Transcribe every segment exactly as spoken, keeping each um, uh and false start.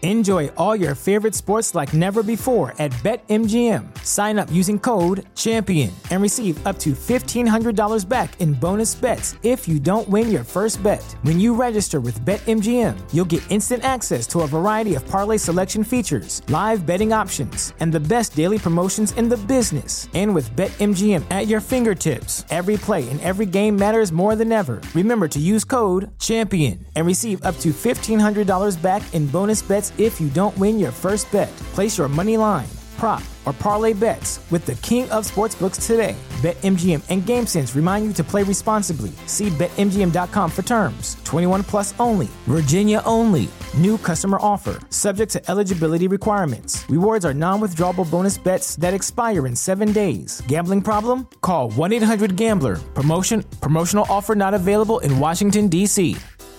Enjoy all your favorite sports like never before at BetMGM. Sign up using code CHAMPION and receive up to fifteen hundred dollars back in bonus bets if you don't win your first bet. When you register with BetMGM, you'll get instant access to a variety of parlay selection features, live betting options, and the best daily promotions in the business. And with BetMGM at your fingertips, every play and every game matters more than ever. Remember to use code CHAMPION and receive up to fifteen hundred dollars back in bonus bets if you don't win your first bet. Place your money line, prop, or parlay bets with the king of sportsbooks today. BetMGM and GameSense remind you to play responsibly. See Bet M G M dot com for terms. twenty-one plus only. Virginia only. New customer offer. Subject to eligibility requirements. Rewards are non-withdrawable bonus bets that expire in seven days. Gambling problem? Call one eight hundred gambler. Promotion. Promotional offer not available in Washington, D C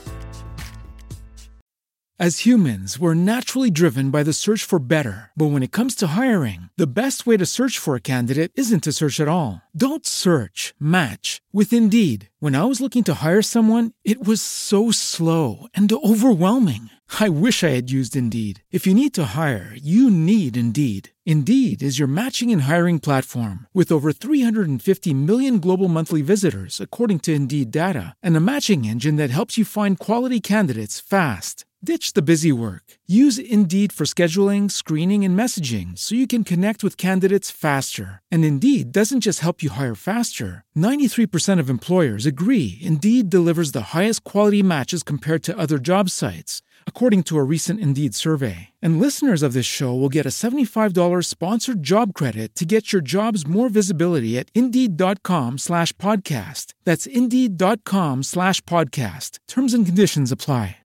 As humans, we're naturally driven by the search for better. But when it comes to hiring, the best way to search for a candidate isn't to search at all. Don't search, match with Indeed. When I was looking to hire someone, it was so slow and overwhelming. I wish I had used Indeed. If you need to hire, you need Indeed. Indeed is your matching and hiring platform with over three hundred fifty million global monthly visitors, according to Indeed data, and a matching engine that helps you find quality candidates fast. Ditch the busy work. Use Indeed for scheduling, screening, and messaging so you can connect with candidates faster. And Indeed doesn't just help you hire faster. ninety-three percent of employers agree Indeed delivers the highest quality matches compared to other job sites, according to a recent Indeed survey. And listeners of this show will get a seventy-five dollars sponsored job credit to get your jobs more visibility at Indeed.com slash podcast. That's Indeed.com slash podcast. Terms and conditions apply.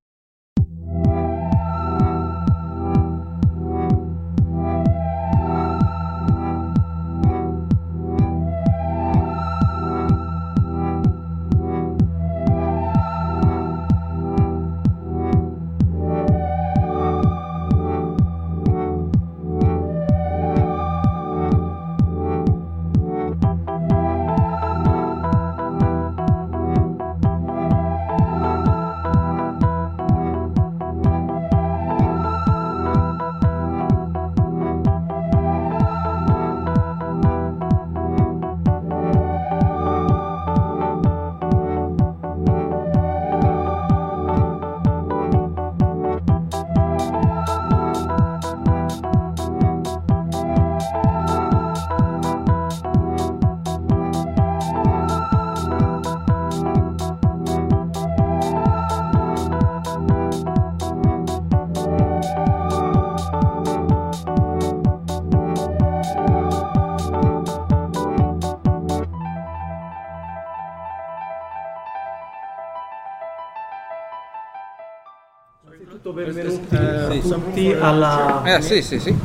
Benvenuti eh, tutti alla... Eh, sì, sì, sì.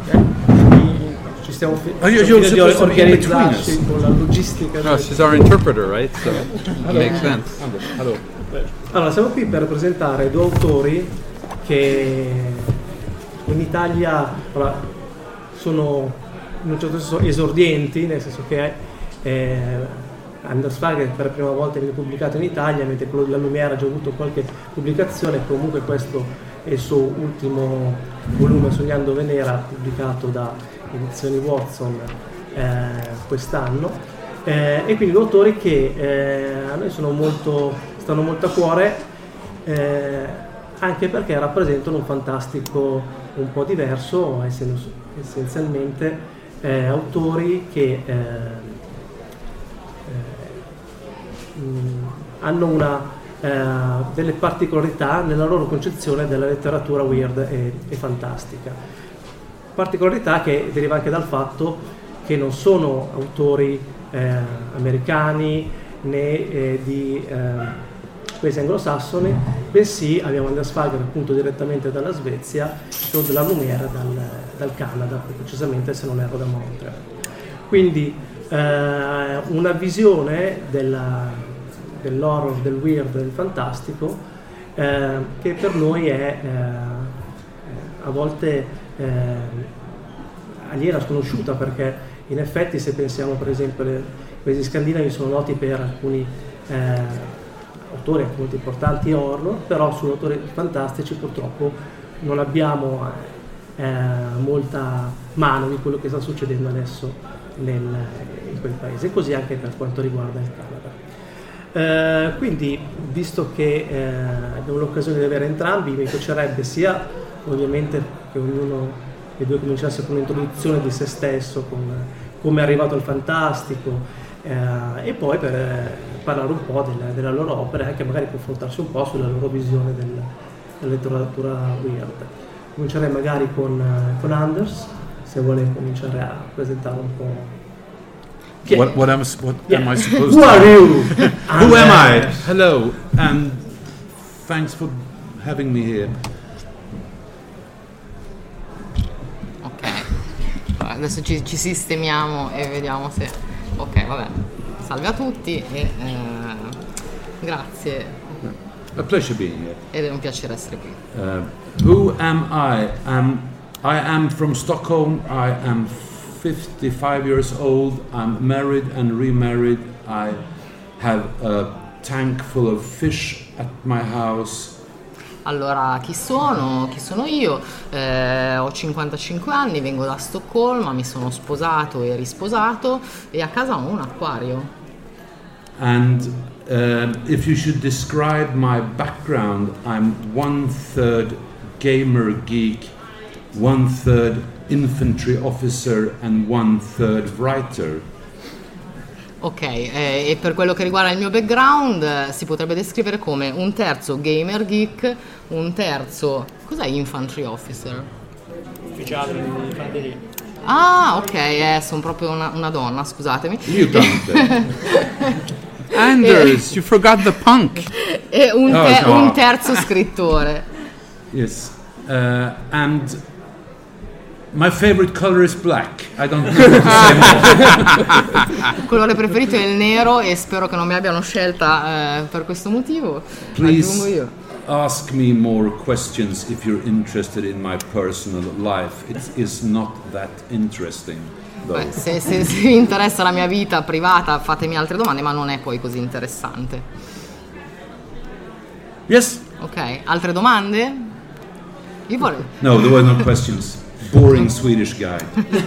Ci stiamo fi- oh, you're, you're di organizzarci con la logistica. No, she's our interpreter, right? So it makes sense. Allora. allora, siamo qui per presentare due autori che in Italia allora, sono in un certo senso esordienti, nel senso che eh, Anders Fagel per la prima volta viene pubblicato in Italia, mentre quello della Lumière ha già avuto qualche pubblicazione. Comunque questo è il suo ultimo volume, Sognando Venera, pubblicato da Edizioni Watson eh, quest'anno, eh, e quindi due autori che eh, a noi sono molto, stanno molto a cuore, eh, anche perché rappresentano un fantastico un po' diverso, essendo essenzialmente eh, autori che eh, eh, mh, hanno una Uh, delle particolarità nella loro concezione della letteratura weird e, e fantastica. Particolarità che deriva anche dal fatto che non sono autori eh, americani né eh, di eh, paesi anglosassoni, bensì abbiamo Anders Fagel appunto direttamente dalla Svezia e della Lumière dal, dal Canada, precisamente se non erro da Montreal. Quindi eh, una visione della dell'horror, del weird, del fantastico, eh, che per noi è eh, a volte eh, aliena, sconosciuta, perché in effetti se pensiamo per esempio ai paesi scandinavi sono noti per alcuni eh, autori molto importanti horror, però su autori fantastici purtroppo non abbiamo eh, molta mano di quello che sta succedendo adesso nel, in quel paese, e così anche per quanto riguarda il Canada. Eh, quindi, visto che eh, abbiamo l'occasione di avere entrambi, mi piacerebbe sia ovviamente che ognuno dei due cominciasse con un'introduzione di se stesso, con come è arrivato al fantastico, eh, e poi per eh, parlare un po' della, della loro opera e anche magari confrontarsi un po' sulla loro visione del, della letteratura weird. Comincerei magari con, uh, con Anders, se vuole cominciare a presentare un po'. Chi è? What, what, am, what Yeah. am I supposed Who to are you? Who am I? Hello, and thanks for having me here. Ok, adesso ci, ci sistemiamo e vediamo se... Ok, vabbè. Salve a tutti e eh, grazie. A pleasure being here. Ed è un piacere essere qui. Uh, who am I? Um, I am from Stockholm. I am fifty-five years old. I'm married and remarried. I have a tank full of fish at my house. Allora, chi sono? Chi sono io? Eh, ho cinquantacinque anni, vengo da Stoccolma, mi sono sposato e risposato e a casa ho un acquario. And uh, if you should describe my background, I'm one third gamer geek, one third infantry officer and one third writer. Ok, eh, e per quello che riguarda il mio background eh, si potrebbe descrivere come un terzo gamer geek, un terzo... Cos'è infantry officer? Ufficiale di fanteria. Ah, ok, eh, sono proprio una, una donna, scusatemi. You don't. Anders, you forgot the punk. E un, te- Oh, no. un terzo scrittore. Yes. Uh, and my favorite color is black. I don't know what to say more. Il colore preferito è il nero e spero che non mi abbiano scelta eh, per questo motivo. Aggiungo Please io. ask me more questions if you're interested in my personal life. It is not that interesting, though. Beh, se, se, se vi interessa la mia vita privata fatemi altre domande, ma non è poi così interessante. Yes? Ok, altre domande? Io vorrei... No, there were no questions. Boring Swedish guy.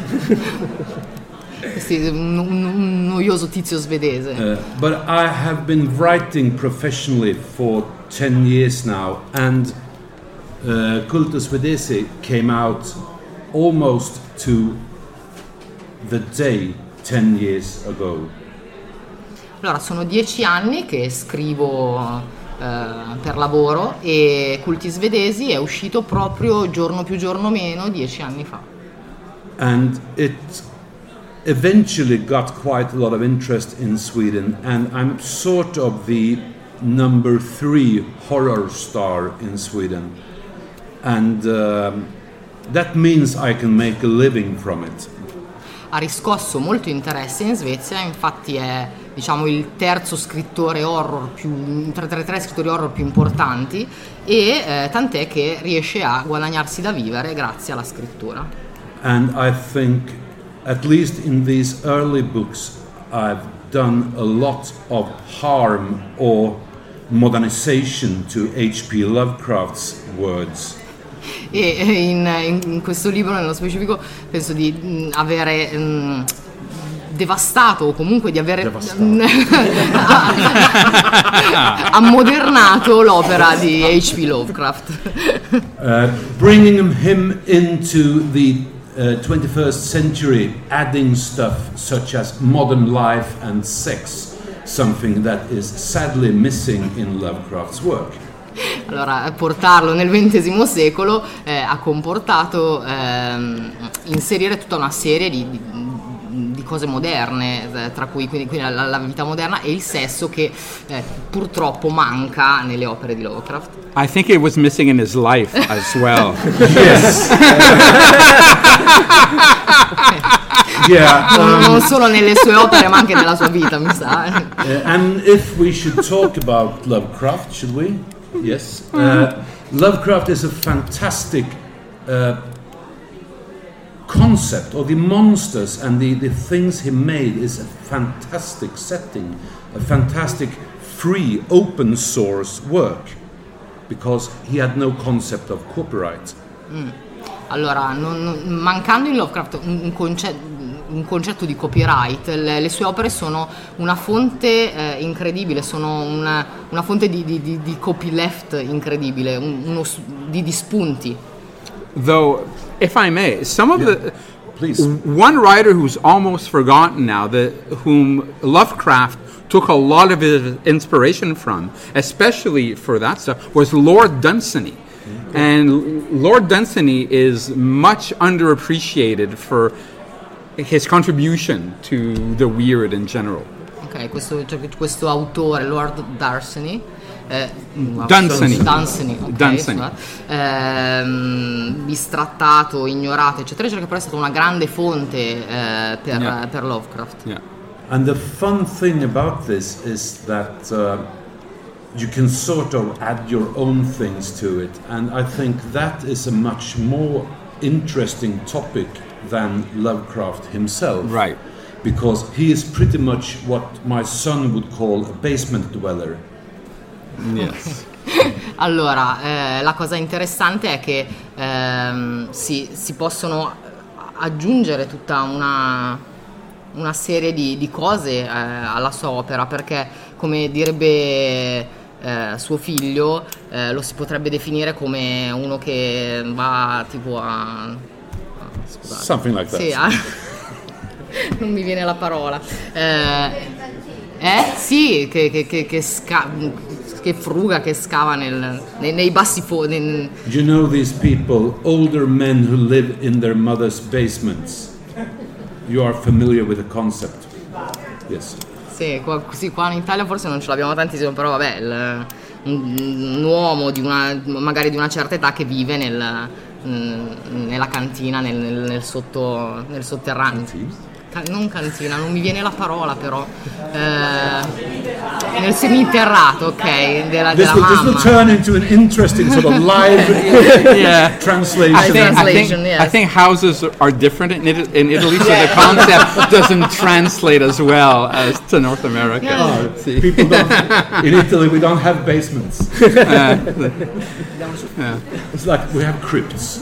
Sì, un, un- un noioso tizio svedese. Uh, but I have been writing professionally for ten years now, and uh, Cultus Svedese came out almost to the day ten years ago. Allora, sono dieci anni che scrivo eh, per lavoro e Culti Svedesi è uscito proprio giorno più giorno meno dieci anni fa. And it eventually got quite a lot of interest in Sweden, and I'm sort of the number three horror star in Sweden, and um, that means I can make a living from it. Ha riscosso molto interesse in Svezia, infatti è, diciamo, il terzo scrittore horror più, tra, tra i tre scrittori horror più importanti e eh, tant'è che riesce a guadagnarsi da vivere grazie alla scrittura. And I think, at least in these early books, I've done a lot of harm or modernization to H P Lovecraft's words. E eh, in, in questo libro nello specifico penso di mh, avere mh, devastato o comunque di avere ammodernato l'opera di H P Lovecraft. Uh, bringing him into the uh, twenty-first century, adding stuff such as modern life and sex, something that is sadly missing in Lovecraft's work. Allora, portarlo nel ventesimo secolo eh, ha comportato ehm, inserire tutta una serie di, di, di cose moderne, eh, tra cui quindi, quindi la, la vita moderna e il sesso che eh, purtroppo manca nelle opere di Lovecraft. I think it was missing in his life as well. Yes. Yeah. Non, um, non solo nelle sue opere ma anche nella sua vita, mi sa. Uh, and if we should talk about Lovecraft, should we? Yes. Uh, Lovecraft is a fantastic uh, concept, or the monsters and the, the things he made is a fantastic setting, a fantastic free open source work. because he had no concept of copyright. Mm. Allora, non, non, mancando in Lovecraft un, un, conce- un concetto di copyright, le, le sue opere sono una fonte eh, incredibile, sono una, una fonte di, di, di, di copyleft incredibile, un, uno, di, di spunti. Though, if I may, some of Yeah. the Please. one writer who's almost forgotten now, that whom Lovecraft took a lot of his inspiration from, especially for that stuff, was Lord Dunsany. And Lord Dunsany is much underappreciated for his contribution to the weird in general. Ok, questo, cioè, questo autore, Lord Dunsany, eh, Dunsany. Dunsany, ok, Dunsany. scusate, ehm, bistrattato, ignorato, eccetera, eccetera, che però è stata una grande fonte eh, per, Yeah. per Lovecraft. Yeah. And the fun thing about this is that uh, you can sort of add your own things to it, and I think that is a much more interesting topic than Lovecraft himself. Right. Because he is pretty much what my son would call a basement dweller. Yes. Allora, eh, la cosa interessante è che ehm, si, si possono aggiungere tutta una, una serie di, di cose eh, alla sua opera, perché, come direbbe eh, suo figlio, eh, lo si potrebbe definire come uno che va tipo a... a- scusate. Something like that. Sì, a- non mi viene la parola. Eh, eh? Sì, che, che, che, che, sca- che fruga, che scava nel- nei, nei bassi fondi. You know these people, older men who live in their mother's basements. You are familiar with the concept. Yes. Sì, qua, sì, qua in Italia forse non ce l'abbiamo tantissimo, però vabbè, il- un, un uomo di una, magari di una certa età che vive nel, mm, nella cantina, nel, nel, nel sotto, nel sotterraneo. Ca- non cantina, non mi viene la parola però. Eh, nel seminterrato, ok, della, This della will, this will mamma. turn into an interesting sort of live Yeah. translation. I think, I, think, Translation, yes. I think houses are different in, Ita- in Italy, so the concept doesn't translate as well as to North America. Oh, See? people don't. In Italy, we don't have basements. It's like we have crypts.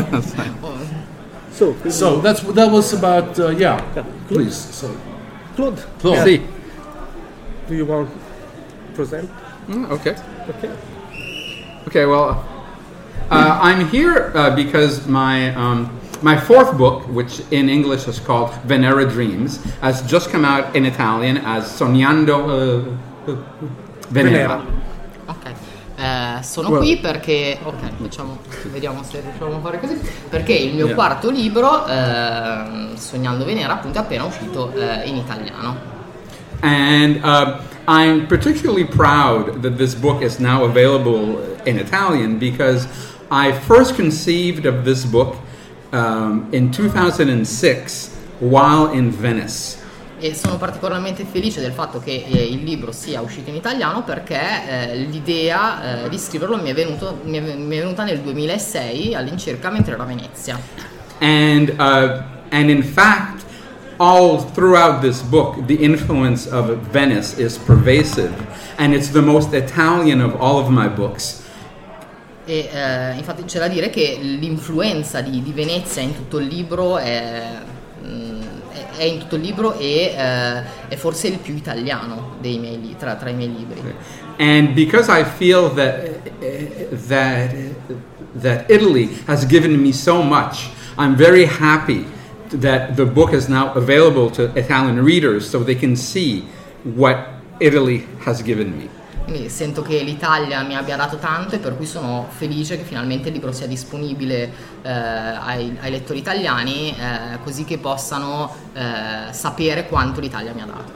So, So that's that was about uh, yeah. Please, so Claude, Claude. See. do you want to present? Mm, okay. Okay. Okay, well, uh, I'm here uh, because my um, my fourth book, which in English is called Venera Dreams, has just come out in Italian as Sognando uh, Venera. Ok, eh, sono Well- qui perché, ok, facciamo, vediamo se riusciamo a fare così, perché il mio Yeah. quarto libro, eh, Sognando Venera, appunto è appena uscito eh, in italiano. And uh, I'm particularly proud that this book is now available in Italian because I first conceived of this book um, in two thousand six while in Venice. E sono particolarmente felice del fatto che eh, il libro sia uscito in italiano perché eh, l'idea eh, di scriverlo mi è, venuto, mi, è, mi è venuta nel duemilasei all'incirca mentre ero a Venezia. And uh, and in fact, all throughout this book, the influence of Venice is pervasive, and it's the most Italian of all of my books. E eh, infatti c'è da dire che l'influenza di, di Venezia in tutto il libro è, mm, è- è in tutto il libro e eh, è forse il più italiano dei miei li- tra, tra i miei libri. And because I feel that that that Italy has given me so much, I'm very happy that the book is now available to Italian readers so they can see what Italy has given me. Quindi sento che l'Italia mi abbia dato tanto e per cui sono felice che finalmente il libro sia disponibile eh, ai, ai lettori italiani eh, così che possano eh, sapere quanto l'Italia mi ha dato.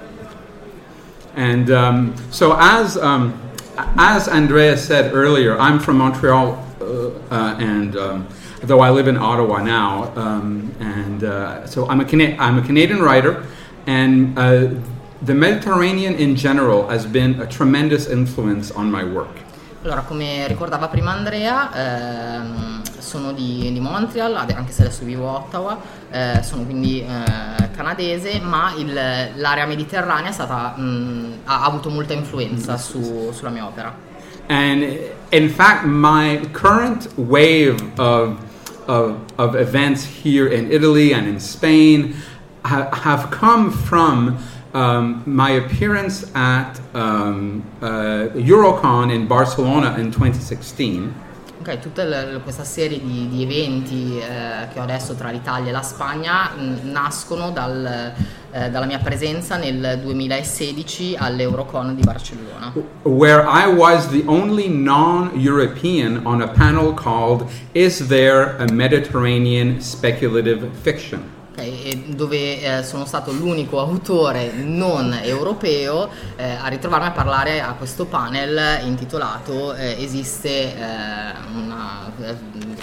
And um, so, as um, as Andrea said earlier, I'm from Montreal, uh, uh, and um, though I live in Ottawa now, um, and uh, so I'm a Cana- I'm a Canadian writer, and uh, the Mediterranean in general has been a tremendous influence on my work. Allora, come ricordava prima Andrea, ehm, sono di, di Montreal, ade- anche se adesso vivo a Ottawa, eh, sono quindi eh, canadese, ma il- l'area mediterranea è stata, mh, ha, ha avuto molta influenza su- sulla mia opera. and in fact, my current wave of of, of events here in Italy and in Spain ha- have come from um, my appearance at um, uh, Eurocon in Barcelona in twenty sixteen. Ok, tutta l- questa serie di, di eventi eh, che ho adesso tra l'Italia e la Spagna mh, nascono dal, eh, dalla mia presenza nel duemilasedici all'Eurocon di Barcellona, Where I was the only non-European on a panel called Is There a Mediterranean Speculative Fiction? okay, e dove eh, sono stato l'unico autore non europeo eh, a ritrovarmi a parlare a questo panel intitolato eh, Esiste eh, una... Eh,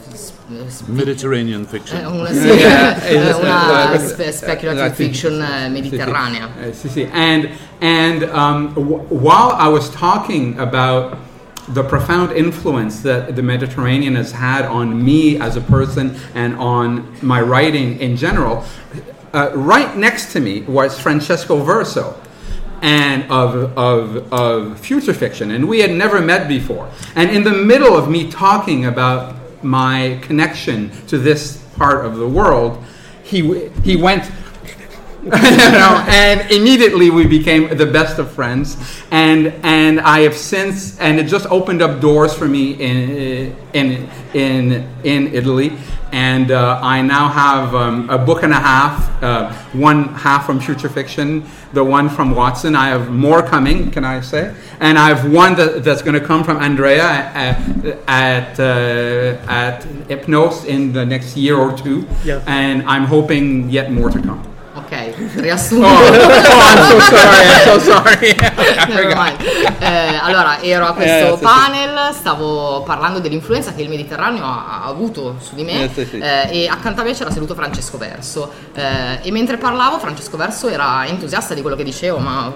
sp- Mediterranean fiction. eh, una, sì, Yeah, eh, it's, una uh, spe- speculative I think- fiction eh, mediterranea. Uh, sì, sì. And and um, w- while I was talking about the profound influence that the Mediterranean has had on me as a person and on my writing in general, uh, right next to me was Francesco Verso, and of, of of future fiction, and we had never met before. And in the middle of me talking about my connection to this part of the world, he w- he went. you know, and immediately we became the best of friends, and and I have since, and it just opened up doors for me in in in in Italy, and uh, I now have um, a book and a half, uh, one half from Future Fiction, the one from Watson. I have more coming, can I say? And I have one that, that's going to come from Andrea at at, uh, at Hypnos in the next year or two, Yeah. and I'm hoping yet more to come. Ok, riassunto. Oh, oh, I'm so sorry, I'm so sorry. Never mind. Eh, allora, ero a questo Eh, sì, sì. panel, stavo parlando dell'influenza che il Mediterraneo ha, ha avuto su di me, Eh, sì, sì. eh, e accanto a me c'era seduto Francesco Verso, eh, e mentre parlavo Francesco Verso era entusiasta di quello che dicevo, ma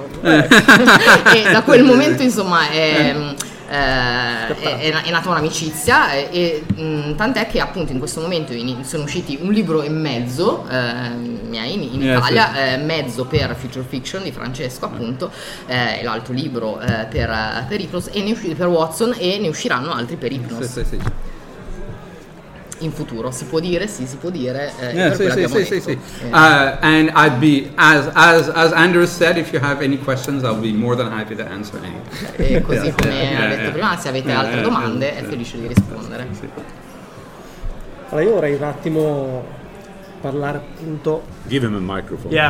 e da quel momento insomma è... Eh, è, è, è nata un'amicizia e, e mh, tant'è che appunto in questo momento in, sono usciti un libro e mezzo eh, miei in, in Yes, Italia, yes. eh, mezzo per Future Fiction di Francesco appunto, eh, e l'altro libro eh, per, per Hypnos, e ne usci- per Watson, e ne usciranno altri per Hypnos Sì, sì, sì. in futuro, si può dire, sì, si può dire, eh, Yeah, per sì, quello sì, abbiamo sì, sì, detto. sì. Eh, Uh, and I'd be, as, as, as Andrew said, if you have any questions, I'll be more than happy to answer any. e così come yeah, ha detto yeah. prima, se avete Yeah, altre yeah, domande yeah, è yeah. felice di rispondere. Allora io vorrei un attimo parlare appunto Give him a microphone. Yeah.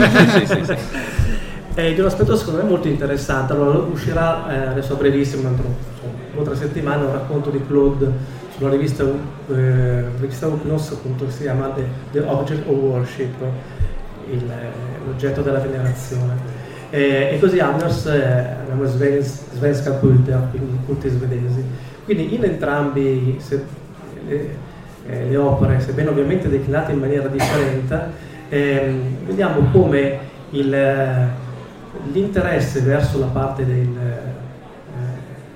eh, di un aspetto secondo me molto interessante. Allora uscirà eh, adesso a brevissimo, entro insomma, due o tre settimane, un racconto di Claude sulla rivista eh, rivista Hypnos, appunto, che si chiama The, The Object of Worship, il, l'oggetto della venerazione. Eh, e così Anders eh, abbiamo Svensk, Svenska Kulter, quindi culti svedesi. Quindi in entrambi se, le, eh, le opere, sebbene ovviamente declinate in maniera differente, ehm, vediamo come il, eh, l'interesse verso la parte del, eh,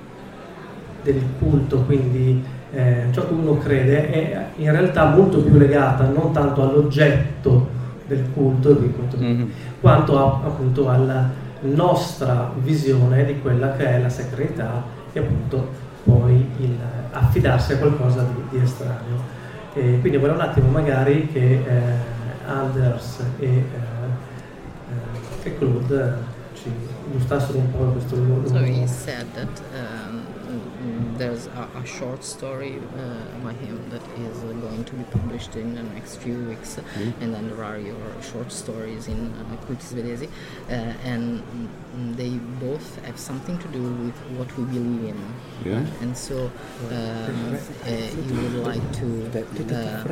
del culto, quindi eh, ciò che uno crede, è in realtà molto più legata non tanto all'oggetto del culto, del culto Mhm. quanto a, appunto alla nostra visione di quella che è la sacralità e appunto poi il affidarsi a qualcosa di, di estraneo. E quindi vorrei un attimo magari che eh, Anders e, eh, eh, e Claude ci illustrassero un po' questo loro. So he said that um, there's a, a short story uh, by him that is uh, going to be published in the next few weeks, and then there are your short stories in uh, Culti Svedesi, uh, and mm, they both have something to do with what we believe in. Yeah. And so um, uh, you would like to uh,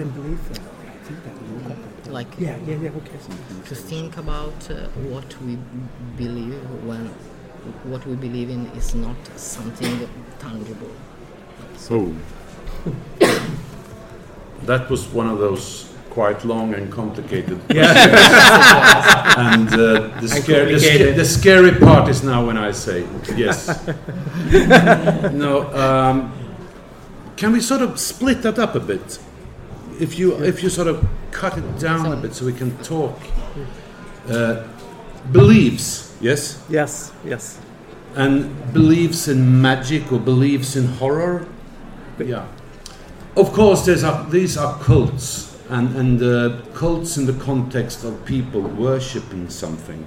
like Yeah, yeah, yeah, okay. to think about uh, what we believe when what we believe in is not something tangible. Oh. That was one of those quite long and complicated and uh, the, scare, the, sca- the scary part is now when I say yes. No, um, can we sort of split that up a bit? If you if you sort of cut it down a bit so we can talk. Uh, beliefs, yes. Yes, yes. and believes in magic or believes in horror. Yeah. Of course, there's a, these are cults, and, and uh, cults in the context of people worshipping something.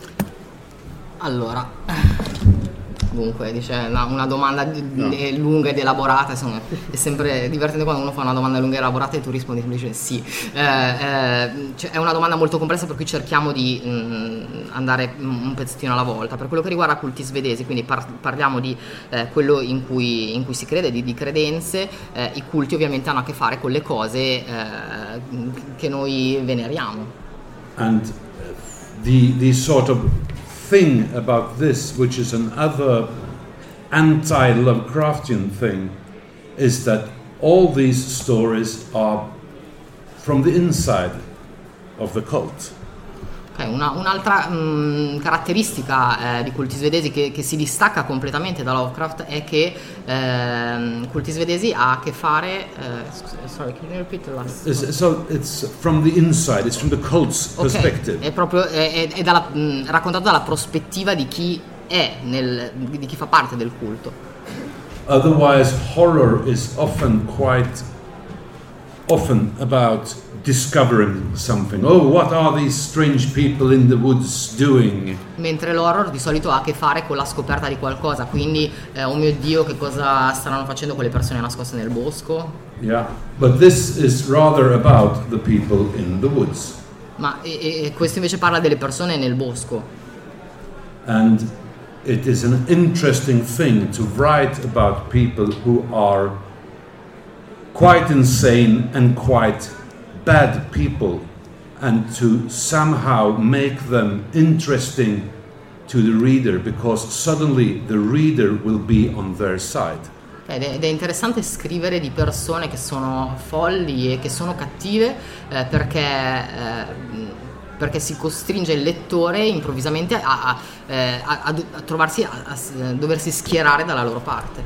Allora, dunque, dice una, una domanda di, no. lunga ed elaborata, insomma, è sempre divertente quando uno fa una domanda lunga e elaborata e tu rispondi semplicemente sì. Eh, eh, cioè, è una domanda molto complessa per cui cerchiamo di mh, andare un pezzettino alla volta. Per quello che riguarda culti svedesi, quindi par- parliamo di eh, quello in cui, in cui si crede, di, di credenze, eh, i culti ovviamente hanno a che fare con le cose eh, che noi veneriamo. And the, the sort of thing about this, which is another anti-Lovecraftian thing, is that all these stories are from the inside of the cult. Okay, una, un'altra mh, caratteristica eh, di culti svedesi che, che si distacca completamente da Lovecraft è che eh, culti svedesi ha a che fare eh, sorry, can you repeat the last it's, so it's from the inside, it's from the cult's okay, perspective. È proprio è, è dalla, mh, raccontato dalla prospettiva di chi è nel, di chi fa parte del culto. Otherwise, horror is often quite often about discovering something. Oh, what are these strange people in the woods doing? Mentre l'horror di solito ha a che fare con la scoperta di qualcosa, quindi eh, oh mio Dio, che cosa staranno facendo quelle persone nascoste nel bosco? Yeah, but this is rather about the people in the woods. Ma e, e questo invece parla delle persone nel bosco. And it is an interesting thing to write about people who are quite insane and quite bad people, and to somehow make them interesting to the reader, because suddenly the reader will be on their side. Ed è, ed è interessante scrivere di persone che sono folli e che sono cattive eh, perché, eh, perché si costringe il lettore improvvisamente a, a, a, a, a trovarsi a, a doversi schierare dalla loro parte.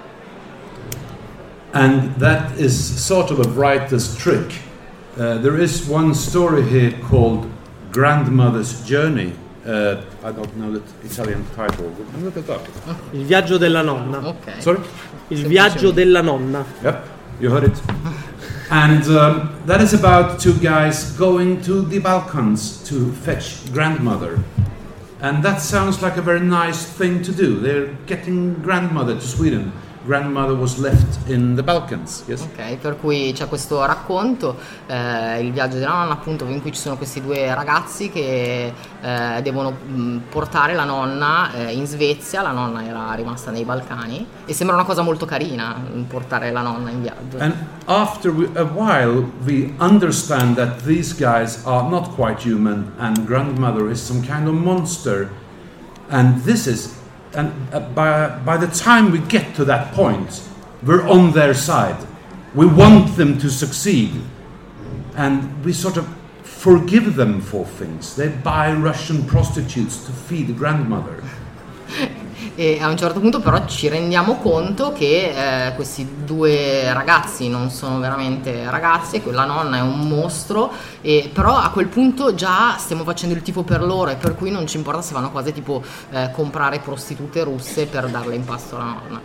And that is sort of a writer's trick. Uh, there is one story here called Grandmother's Journey. Uh, I don't know the Italian title. Look it up. Il viaggio della nonna. Okay. Sorry? Il viaggio della nonna. Yep, you heard it. And um, that is about two guys going to the Balkans to fetch grandmother. And that sounds like a very nice thing to do. They're getting grandmother to Sweden. Grandmother was left in the Balkans, yes? Ok, per cui c'è questo racconto, eh, il viaggio della nonna, appunto, in cui ci sono questi due ragazzi che eh, devono mh, portare la nonna eh, in Svezia. La nonna era rimasta nei Balcani e sembra una cosa molto carina portare la nonna in viaggio. And after we, a while we understand that these guys are not quite human and grandmother is some kind of monster, and this is And uh, by, by the time we get to that point, we're on their side. We want them to succeed. And we sort of forgive them for things. They buy Russian prostitutes to feed grandmother. E a un certo punto però ci rendiamo conto che eh, questi due ragazzi non sono veramente ragazzi e quella nonna è un mostro, e però a quel punto già stiamo facendo il tifo per loro, e per cui non ci importa se vanno cose tipo eh, comprare prostitute russe per darle in pasto alla nonna.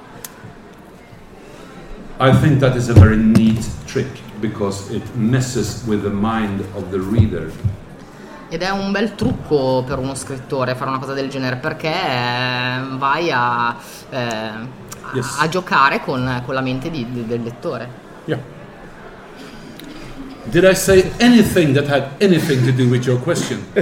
I think that is a very neat trick because it messes with the mind of the reader. Ed è un bel trucco per uno scrittore fare una cosa del genere, perché eh, vai a, eh, yes. a, a giocare con, con la mente di, di, del lettore. Yeah. Did I say anything that had anything to do with your question? uh,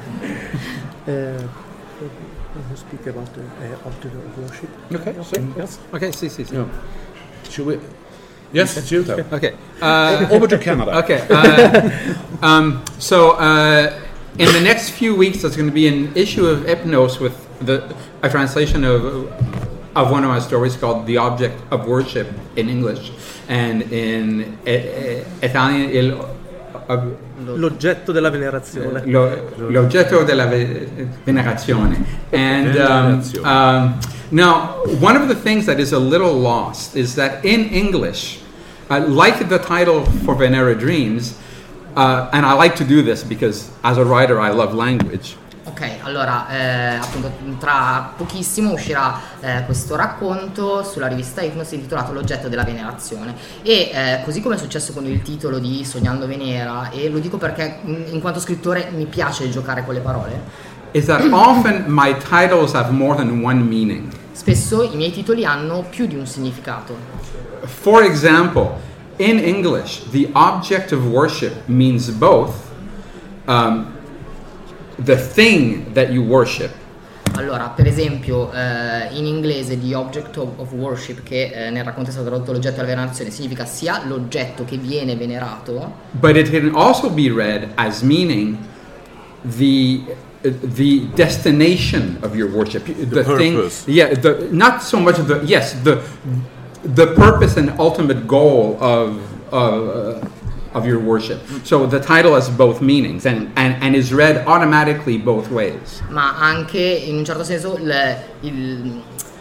speak about the uh, altar of worship. Okay, so, yes. Okay, sì, sì, sì. Yeah. Should we? Yes, shoot up. Okay. Uh, Over to Canada. Okay. Uh, um, so. Uh, In the next few weeks, there's going to be an issue of Epnos with the, a translation of of one of my stories called "The Object of Worship" in English, and in eh, Italian il uh, l'oggetto della venerazione. Lo, l'oggetto della venerazione. And um, um, now, one of the things that is a little lost is that in English, uh, like the title for Venera Dreams. Uh, and I like to do this because as a writer I love language. Ok, allora eh, appunto tra pochissimo uscirà eh, questo racconto sulla rivista Ipnos intitolato L'oggetto della venerazione e eh, così come è successo con il titolo di Sognando Venera, e lo dico perché in, in quanto scrittore mi piace giocare con le parole, is that often my titles have more than one meaning. Spesso i miei titoli hanno più di un significato. For example, in English, the object of worship means both um, the thing that you worship. Allora, per esempio, eh, in inglese the object of, of worship, che eh, nel racconto è stato tradotto l'oggetto della venerazione, significa sia l'oggetto che viene venerato, But it can also be read as meaning the the destination of your worship, the, The thing. purpose. Yeah, the not so much the yes the the purpose and ultimate goal of of. Uh, of your worship. So the title has both meanings and, and, and is read automatically both ways. ma anche in un certo senso il, il,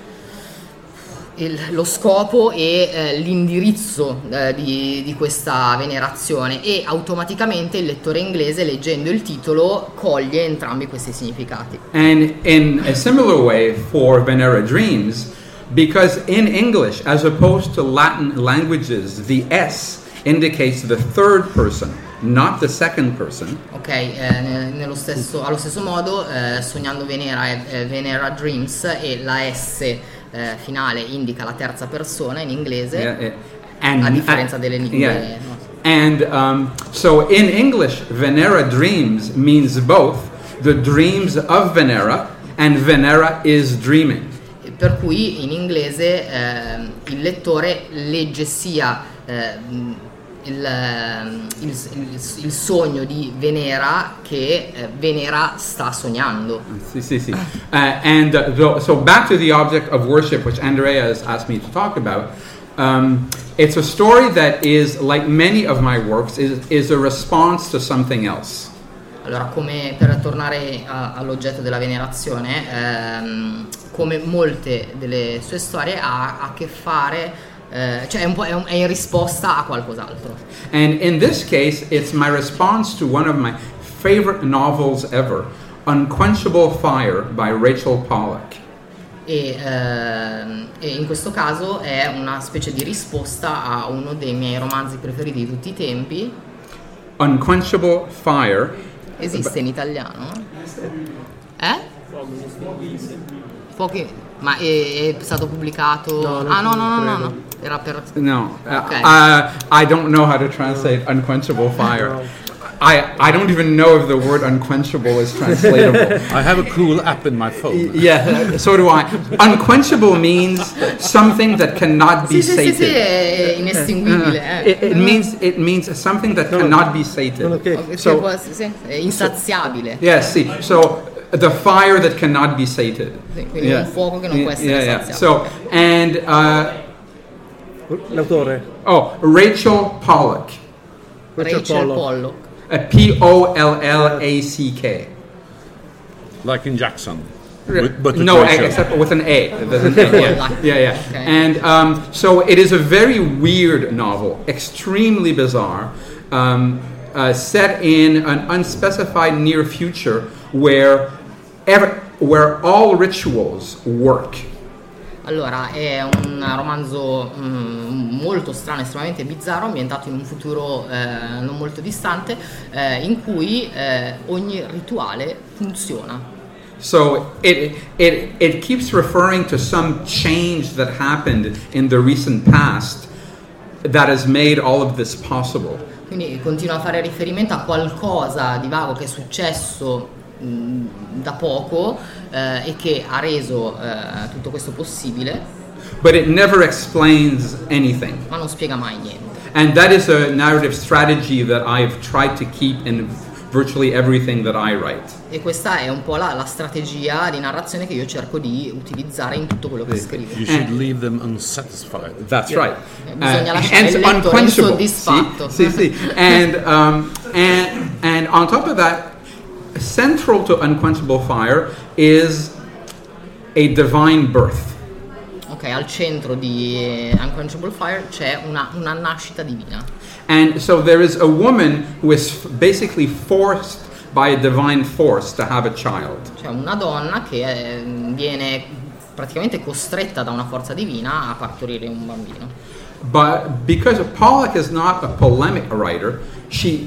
il, lo scopo e eh, l'indirizzo eh, di, di questa venerazione, e automaticamente il lettore inglese, leggendo il titolo, coglie entrambi questi significati. And in a similar way for Venera Dreams, because in English, as opposed to Latin languages, the S indicates the third person, not the second person. Ok, eh, ne- nello stesso, allo stesso modo eh, Sognando Venera è eh, Venera Dreams, e la S eh, finale indica la terza persona in inglese, Yeah, yeah. And, a differenza delle lingue. yeah. no? And um, so in English, Venera Dreams means both the dreams of Venera and Venera is dreaming. Per cui in inglese eh, il lettore legge sia eh, il, il, il, il sogno di Venera che eh, Venera sta sognando. See, see, see. Uh, and uh, so, so back to the object of worship, which Andrea has asked me to talk about. Um, it's a story that is, like many of my works, is, is a response to something else. Allora, come per tornare a, all'oggetto della venerazione, ehm, come molte delle sue storie ha a che fare, eh, cioè è, un po', è, un, è in risposta a qualcos'altro. And in this case, it's my response to one of my favorite novels ever, Unquenchable Fire by Rachel Pollack. E, ehm, e in questo caso è una specie di risposta a uno dei miei romanzi preferiti di tutti i tempi. Unquenchable Fire. Esiste in italiano? Eh? Fuochi. Ma è, è stato pubblicato? No, non ah no no no no, credo. no. Era per... No, uh, Okay. uh, I don't know how to translate Unquenchable Fire. No. I, I don't even know if the word unquenchable is translatable. I have a cool app in my phone. Yeah, so do I. Unquenchable means something that cannot be Sì sì sì, sì, sated. è inestinguibile. eh. It, it means it means something that No, no. cannot be No, sated. ok. Ok, So- può essere- sì, è insaziabile. Yeah, see, so the fire that cannot be sated. Sì, quindi un fuoco che non può essere yeah, yeah. saziato. So and uh, L'autore? oh, Rachel Pollack, Rachel Rachel Pollock. Pollock. uh, P O L L A C K. Like in Jackson. With- but with no, Rachel. except with an A. There's an A, yeah, yeah, yeah. Okay. And um, so it is a very weird novel, extremely bizarre, um, uh, set in an unspecified near future where ever, where all rituals work. Allora, è un romanzo mm, molto strano, estremamente bizzarro, ambientato in un futuro eh, non molto distante, eh, in cui eh, ogni rituale funziona. So it, it, it keeps referring to some change that happened in the recent past that has made all of this possible. Quindi continua a fare riferimento a qualcosa di vago che è successo mh, da poco eh, e che ha reso eh, tutto questo possibile, But it never explains anything. ma non spiega mai niente. And that is a narrative strategy that I've tried to keep in virtually everything that I write. E questa è un po' la, la strategia di narrazione che io cerco di utilizzare in tutto quello che scrivo. You should leave them unsatisfied. That's Yeah. right. Bisogna lasciare and il lettore unquenchable. insoddisfatto. See, see, see. And, um, and, and on top of that, central to Unquenchable Fire is a divine birth. Ok, al centro di Unquenchable Fire c'è una, una nascita divina. And so there is a woman who is f- basically forced by a divine force to have a child. Cioè una donna che eh, viene praticamente costretta da una forza divina a partorire un bambino. But because Pollack is not a polemic writer, she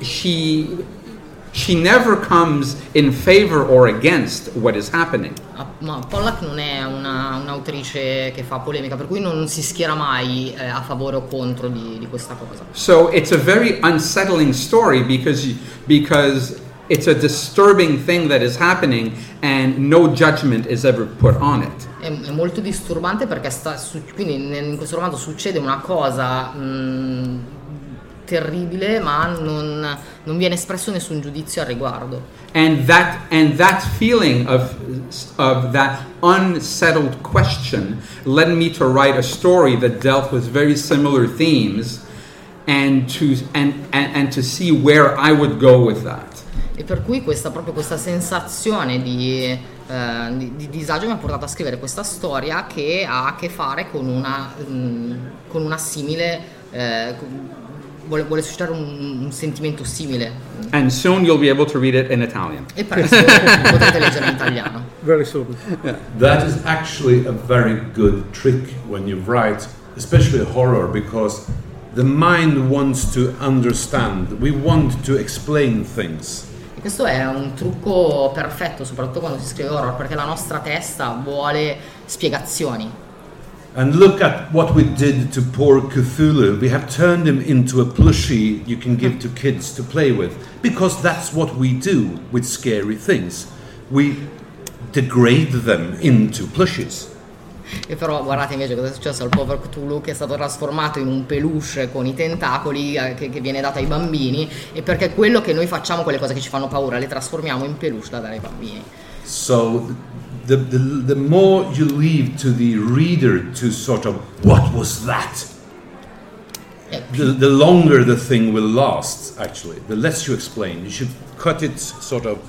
she she never comes in favor or against what is happening. Ma Pollack non è una, un'autrice che fa polemica, per cui non si schiera mai eh, a favore o contro di, di questa cosa. So it's a very unsettling story because because it's a disturbing thing that is happening and no judgment is ever put on it. È, è molto disturbante perché sta, su, quindi in questo romanzo succede una cosa mh, terribile, ma non, non viene espresso nessun giudizio al riguardo. And that and that feeling of of that unsettled question led me to write a story that dealt with very similar themes, and to and and, and to see where I would go with that. E per cui questa proprio questa sensazione di, eh, di, di disagio mi ha portato a scrivere questa storia che ha a che fare con una mh, con una simile eh, vuole, vuole suscitare un, un sentimento simile. And soon you'll be able to read it in Italian. E presto potrete leggere in italiano. Very soon. Yeah. That is actually a very good trick when you write, especially horror, because the mind wants to understand. We want to explain things. Questo è un trucco perfetto, soprattutto quando si scrive horror, perché la nostra testa vuole spiegazioni. And look at what we did to poor Cthulhu. We have turned him into a plushie you can give to kids to play with, because that's what we do with scary things. We degrade them into plushies. E però guardate invece cosa è successo al povero Cthulhu, che è stato trasformato in un peluche con i tentacoli eh, che, che viene dato ai bambini, e perché quello che noi facciamo, quelle cose che ci fanno paura, le trasformiamo in peluche da dare ai bambini. So the, the, the more you leave to the reader to sort of, what was that? The, the longer the thing will last, actually. The less you explain. You should cut it sort of,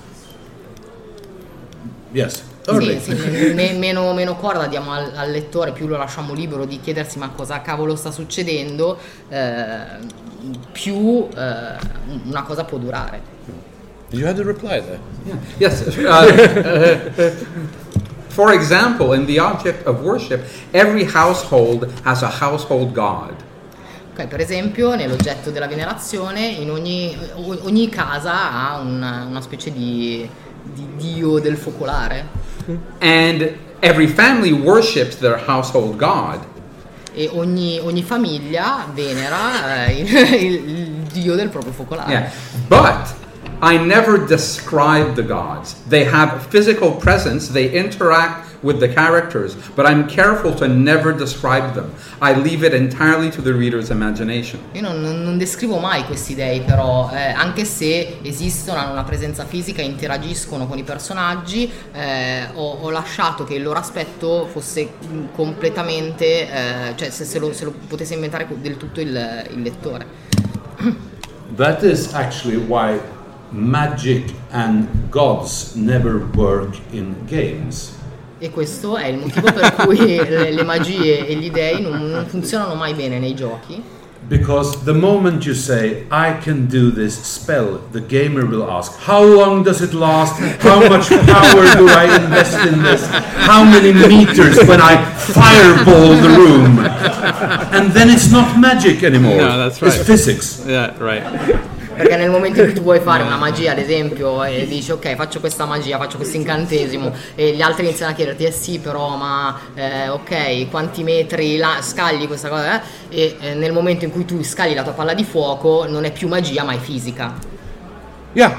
yes. Sì, sì, me, meno, meno corda diamo al, al lettore, più lo lasciamo libero di chiedersi ma cosa cavolo sta succedendo, eh, più eh, una cosa può durare. Did you have to reply there? Yeah. Yes. Uh, uh, for example, in the object of worship, every household has a household god. Okay, per esempio, nell'oggetto della venerazione, in ogni, ogni casa ha una, una specie di, di dio del focolare. And every family worships their household god. E ogni, ogni famiglia venera eh, il, il dio del proprio focolare. Yeah. But I never describe the gods. They have physical presence, they interact with the characters, but I'm careful to never describe them. I leave it entirely to the reader's imagination. Io non, non descrivo mai questi dei, però, eh, anche se esistono, hanno una presenza fisica, interagiscono con i personaggi, eh, ho, ho lasciato che il loro aspetto fosse completamente, eh, cioè se, se, lo, se lo potesse inventare del tutto il, il lettore. That is actually why magic and gods never work in games. E questo è il motivo per cui le, le magie e gli dei non, non funzionano mai bene nei giochi. Because the moment you say, I can do this spell, the gamer will ask, how long does it last? How much power do I invest in this? How many meters when I fireball the room? And then it's not magic anymore. No, that's right. It's physics. Yeah, right. Perché nel momento in cui tu vuoi fare una magia, ad esempio, e dici ok, faccio questa magia, faccio questo incantesimo, e gli altri iniziano a chiederti eh sì però ma eh, ok, quanti metri la, scagli questa cosa, eh? E eh, nel momento in cui tu scagli la tua palla di fuoco non è più magia ma è fisica. Yeah.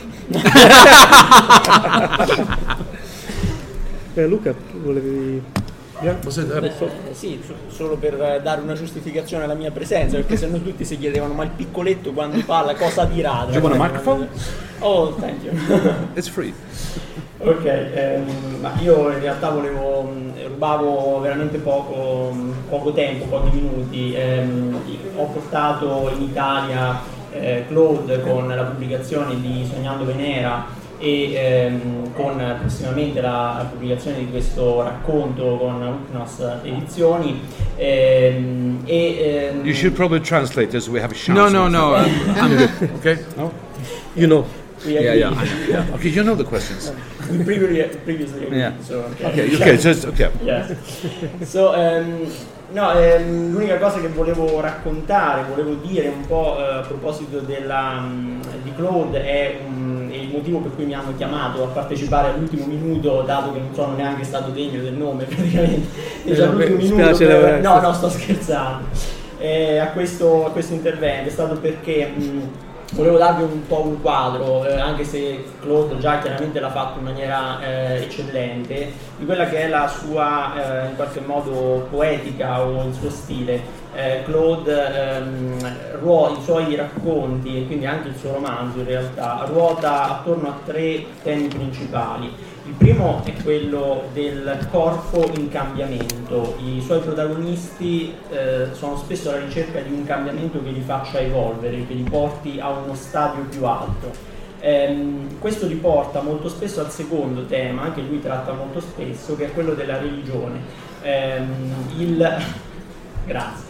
eh, Luca, volevi... Yeah, was it, uh, Beh, eh, sì, solo per dare una giustificazione alla mia presenza, perché se no tutti si chiedevano ma il piccoletto quando parla cosa dirà? Do you want a microphone? Oh, thank you. It's free. Ok, ehm, ma io in realtà volevo, rubavo veramente poco, poco tempo, pochi minuti. Ehm, ho portato in Italia eh, Claude con la pubblicazione di Sognando Venera e ehm, con prossimamente la, la pubblicazione di questo racconto con Uknos Edizioni. Ehm, e, ehm, You should probably translate as we have a chance. No, no, no. I'm, I'm Okay? No? You know. We Yeah, agree. yeah, yeah. Okay, you know the questions. We previously, previously agreed, Yeah. so okay. Okay, okay, just okay. Yes. So, um, no, ehm, l'unica cosa che volevo raccontare, volevo dire un po' eh, a proposito della, um, di Claude è, um, è il motivo per cui mi hanno chiamato a partecipare all'ultimo minuto, dato che non sono neanche stato degno del nome praticamente. Eh, Cioè, vabbè, all'ultimo mi minuto spiace per- la- no, no, sto scherzando. Eh, a, questo, a questo intervento è stato perché mh, volevo darvi un po' un quadro, eh, anche se Claude già chiaramente l'ha fatto in maniera eh, eccellente, di quella che è la sua eh, in qualche modo poetica o il suo stile. Eh, Claude, ehm, ruo- i suoi racconti e quindi anche il suo romanzo in realtà ruota attorno a tre temi principali. Il primo è quello del corpo in cambiamento. I suoi protagonisti eh, sono spesso alla ricerca di un cambiamento che li faccia evolvere, che li porti a uno stadio più alto. Ehm, questo li porta molto spesso al secondo tema, che lui tratta molto spesso, che è quello della religione. Ehm, il... Grazie.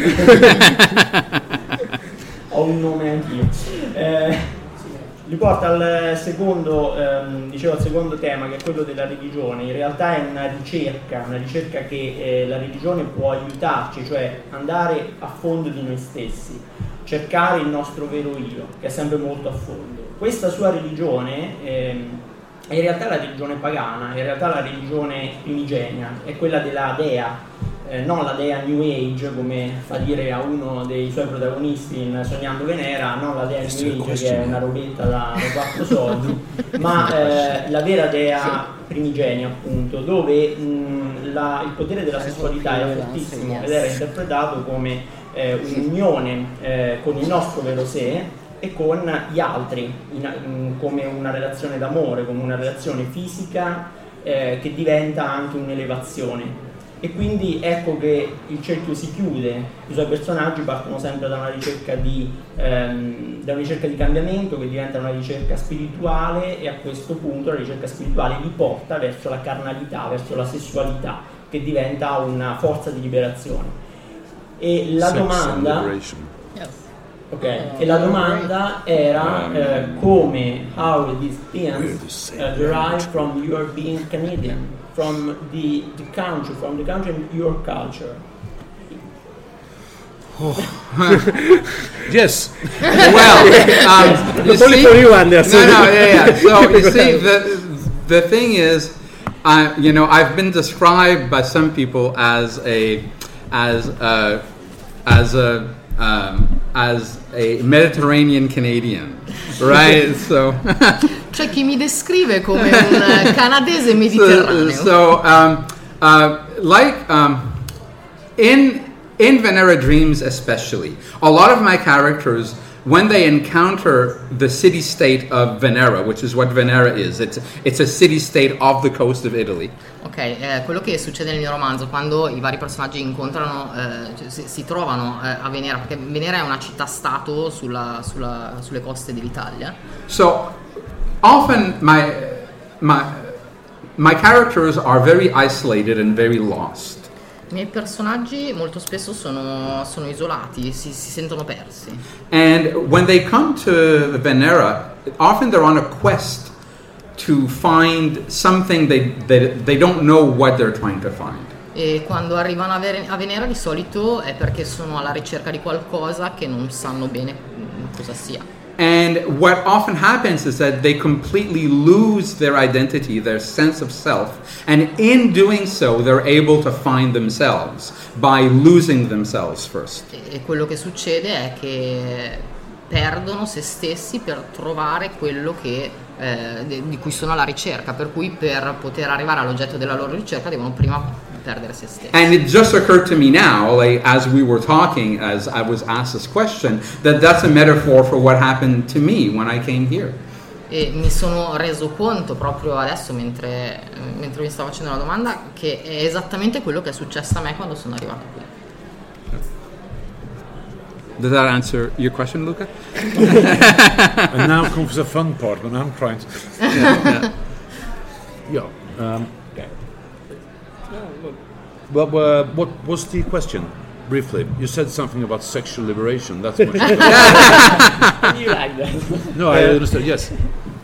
Ho un nome anch'io. Eh, li porta al secondo, ehm, dicevo al secondo tema, che è quello della religione. In realtà è una ricerca, una ricerca che eh, la religione può aiutarci, cioè andare a fondo di noi stessi, cercare il nostro vero io, che è sempre molto a fondo. Questa sua religione ehm, è in realtà la religione pagana, è in realtà la religione primigenia, è quella della dea. Eh, non la dea New Age, come fa dire a uno dei suoi protagonisti in Sognando Venera, non la dea New Age che è una robetta da, da quattro soldi, ma eh, la vera dea primigenia, appunto, dove mh, la, il potere della sessualità era fortissimo ed era interpretato come eh, un'unione eh, con il nostro vero sé e con gli altri, in, in, come una relazione d'amore, come una relazione fisica eh, che diventa anche un'elevazione. E quindi ecco che il cerchio si chiude, i suoi personaggi partono sempre da una ricerca di, ehm, da una ricerca di cambiamento che diventa una ricerca spirituale, e a questo punto la ricerca spirituale li porta verso la carnalità, verso la sessualità, che diventa una forza di liberazione. E la Sex domanda... and liberation. Ok, e la domanda era eh, come, how these themes uh, derive from your being Canadian, from the, the country, from the country and your culture. Yes. Well, um, you see, for you, Anderson. no, no, yeah, yeah. So you see, the the thing is, I, you know, I've been described by some people as a, as a, as a, um, as a Mediterranean Canadian, right? So. C'è chi mi descrive come un canadese mediterraneo. So, so um, uh, like um, in in Venera Dreams especially, a lot of my characters, when they encounter the city-state of Venera, which is what Venera is, it's it's a city-state of the coast of Italy. Ok, eh, quello che succede nel mio romanzo, quando i vari personaggi incontrano, eh, cioè, si, si trovano eh, a Venera, perché Venera è una città-stato sulla, sulla, sulle coste dell'Italia. So often my my my characters are very isolated and very lost. I miei personaggi molto spesso sono, sono isolati, si, si sentono persi. And when they come to Venera, often they're on a quest to find something they, they, they don't know what they're trying to find. E quando arrivano a, Ver- a Venera di solito è perché sono alla ricerca di qualcosa che non sanno bene cosa sia. And what often happens is that they completely lose their identity, their sense of self, and in doing so they're able to find themselves by losing themselves first. E quello che succede è che perdono se stessi per trovare quello che, eh, di cui sono alla ricerca, per cui per poter arrivare all'oggetto della loro ricerca devono prima perdere se stessi. And it just occurred to me now, like, as we were talking, as I was asked this question, that that's a metaphor for what happened to me when I came here. E mi sono reso conto proprio adesso, mentre, mentre mi stavo facendo la domanda, che è esattamente quello che è successo a me quando sono arrivato qui. Does that answer your question, Luca? And now comes the fun part when I'm trying to. Yeah. yeah. Um, well, uh, what was the question? Briefly, you said something about sexual liberation. That's much. You like that? No, I understand. Yes.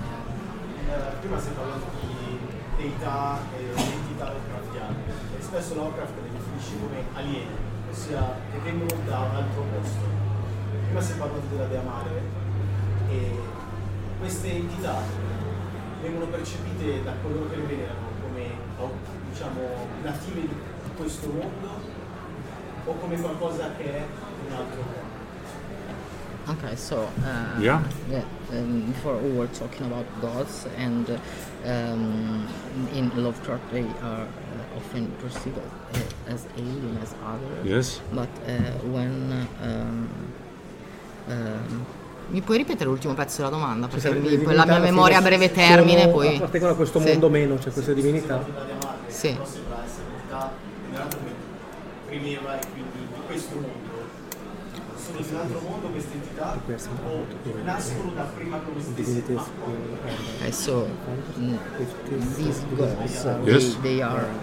entità e entità Lovecraftiane. E spesso Lovecraft le definisce come alieni, ossia che vengono da un altro posto. Prima si è parlato della Dea Madre e queste entità vengono percepite da coloro che le venerano come, diciamo, native di questo mondo o come qualcosa che è un altro mondo. Okay, so uh, Yeah. yeah, um, before we were talking about gods, and um, in Lovecraft they are uh, often perceived uh, as alien, as other. Yes. But uh, when um, um, mi puoi ripetere l'ultimo pezzo della domanda? Perché Cioè, mi- le poi divinità la mia alla memoria a fine breve sono- termine poi... appartengono a questo Sì. mondo meno, cioè queste divinità. Sì. Però sembra essere un'entità venerata come premeva e quindi di questo mondo. Sono di un altro mondo queste entità o nascono da prima come stesse? Ma Okay, so mm, these gods, Yes. they, they are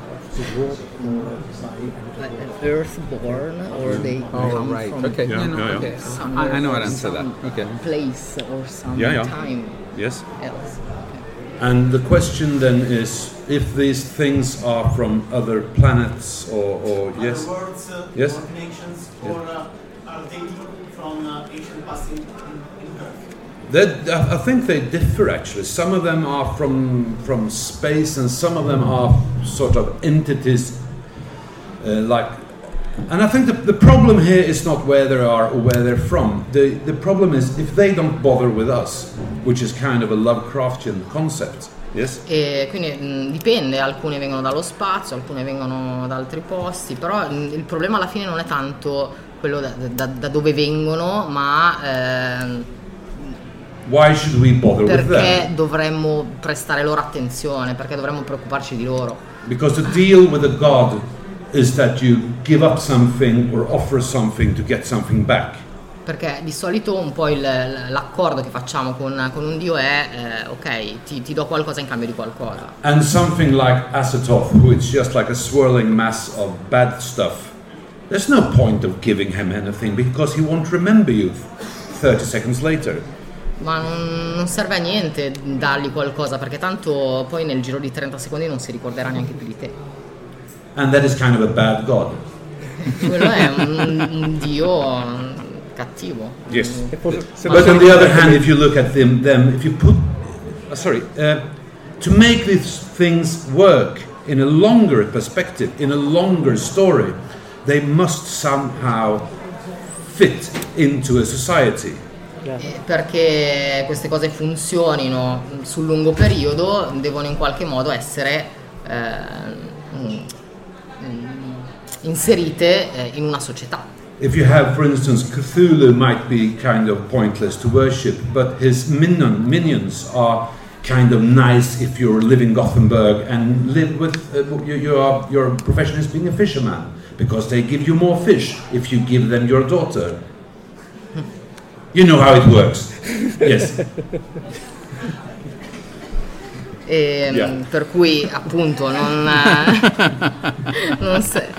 like earthborn, or they Oh, come right. from Okay. Yeah, no, no, yeah, yeah. okay. somewhere, I, I know how to answer some that. Okay. place or some Yeah, yeah. time Yes. else. And the question then is if these things are from other planets or, or yes. other worlds, uh, Yes. or connections, or uh, are they from uh, ancient past in, in, in Earth? That, I I think they differ actually. Some of them are from from space, and some of them are sort of entities uh, like. And I think the, the problem here is not where they are or where they're from. The the problem is if they don't bother with us, which is kind of a Lovecraftian concept. Yes. E quindi mh, dipende, alcune vengono dallo spazio, alcune vengono da altri posti, però mh, il problema alla fine non è tanto quello da, da- da dove vengono, ma ehm, Why should we bother with perché them? dovremmo prestare loro attenzione, perché dovremmo preoccuparci di loro. Because the deal with a god is that you give up something or offer something to get something back. Perché di solito un po' il- l'accordo che facciamo con, con un dio è eh, ok, ti, ti do qualcosa in cambio di qualcosa. And something like Azathoth, who is just like a swirling mass of bad stuff, there's no point of giving him anything because he won't remember you thirty seconds later. Ma non, non serve a niente dargli qualcosa, perché tanto poi nel giro di trenta secondi non si ricorderà neanche più di te. And that is kind of a bad god. Quello è un, un dio cattivo. Yes. E forse- se But posso on the other ricordare- hand, if you look at them, them if you put, uh, sorry, uh, to make these things work in a longer perspective, in a longer story, they must somehow fit into a society. Eh, Perché queste cose funzionino sul lungo periodo, devono in qualche modo essere eh, mm, mm, inserite eh, in una società. If you have, for instance, Cthulhu might be kind of pointless to worship, but his minion, minions are kind of nice if you live in Gothenburg and live with uh, you, you are, your profession is being a fisherman, because they give you more fish if you give them your daughter. You know how it works. Yes. E, Yeah. mm, per cui appunto non, non se...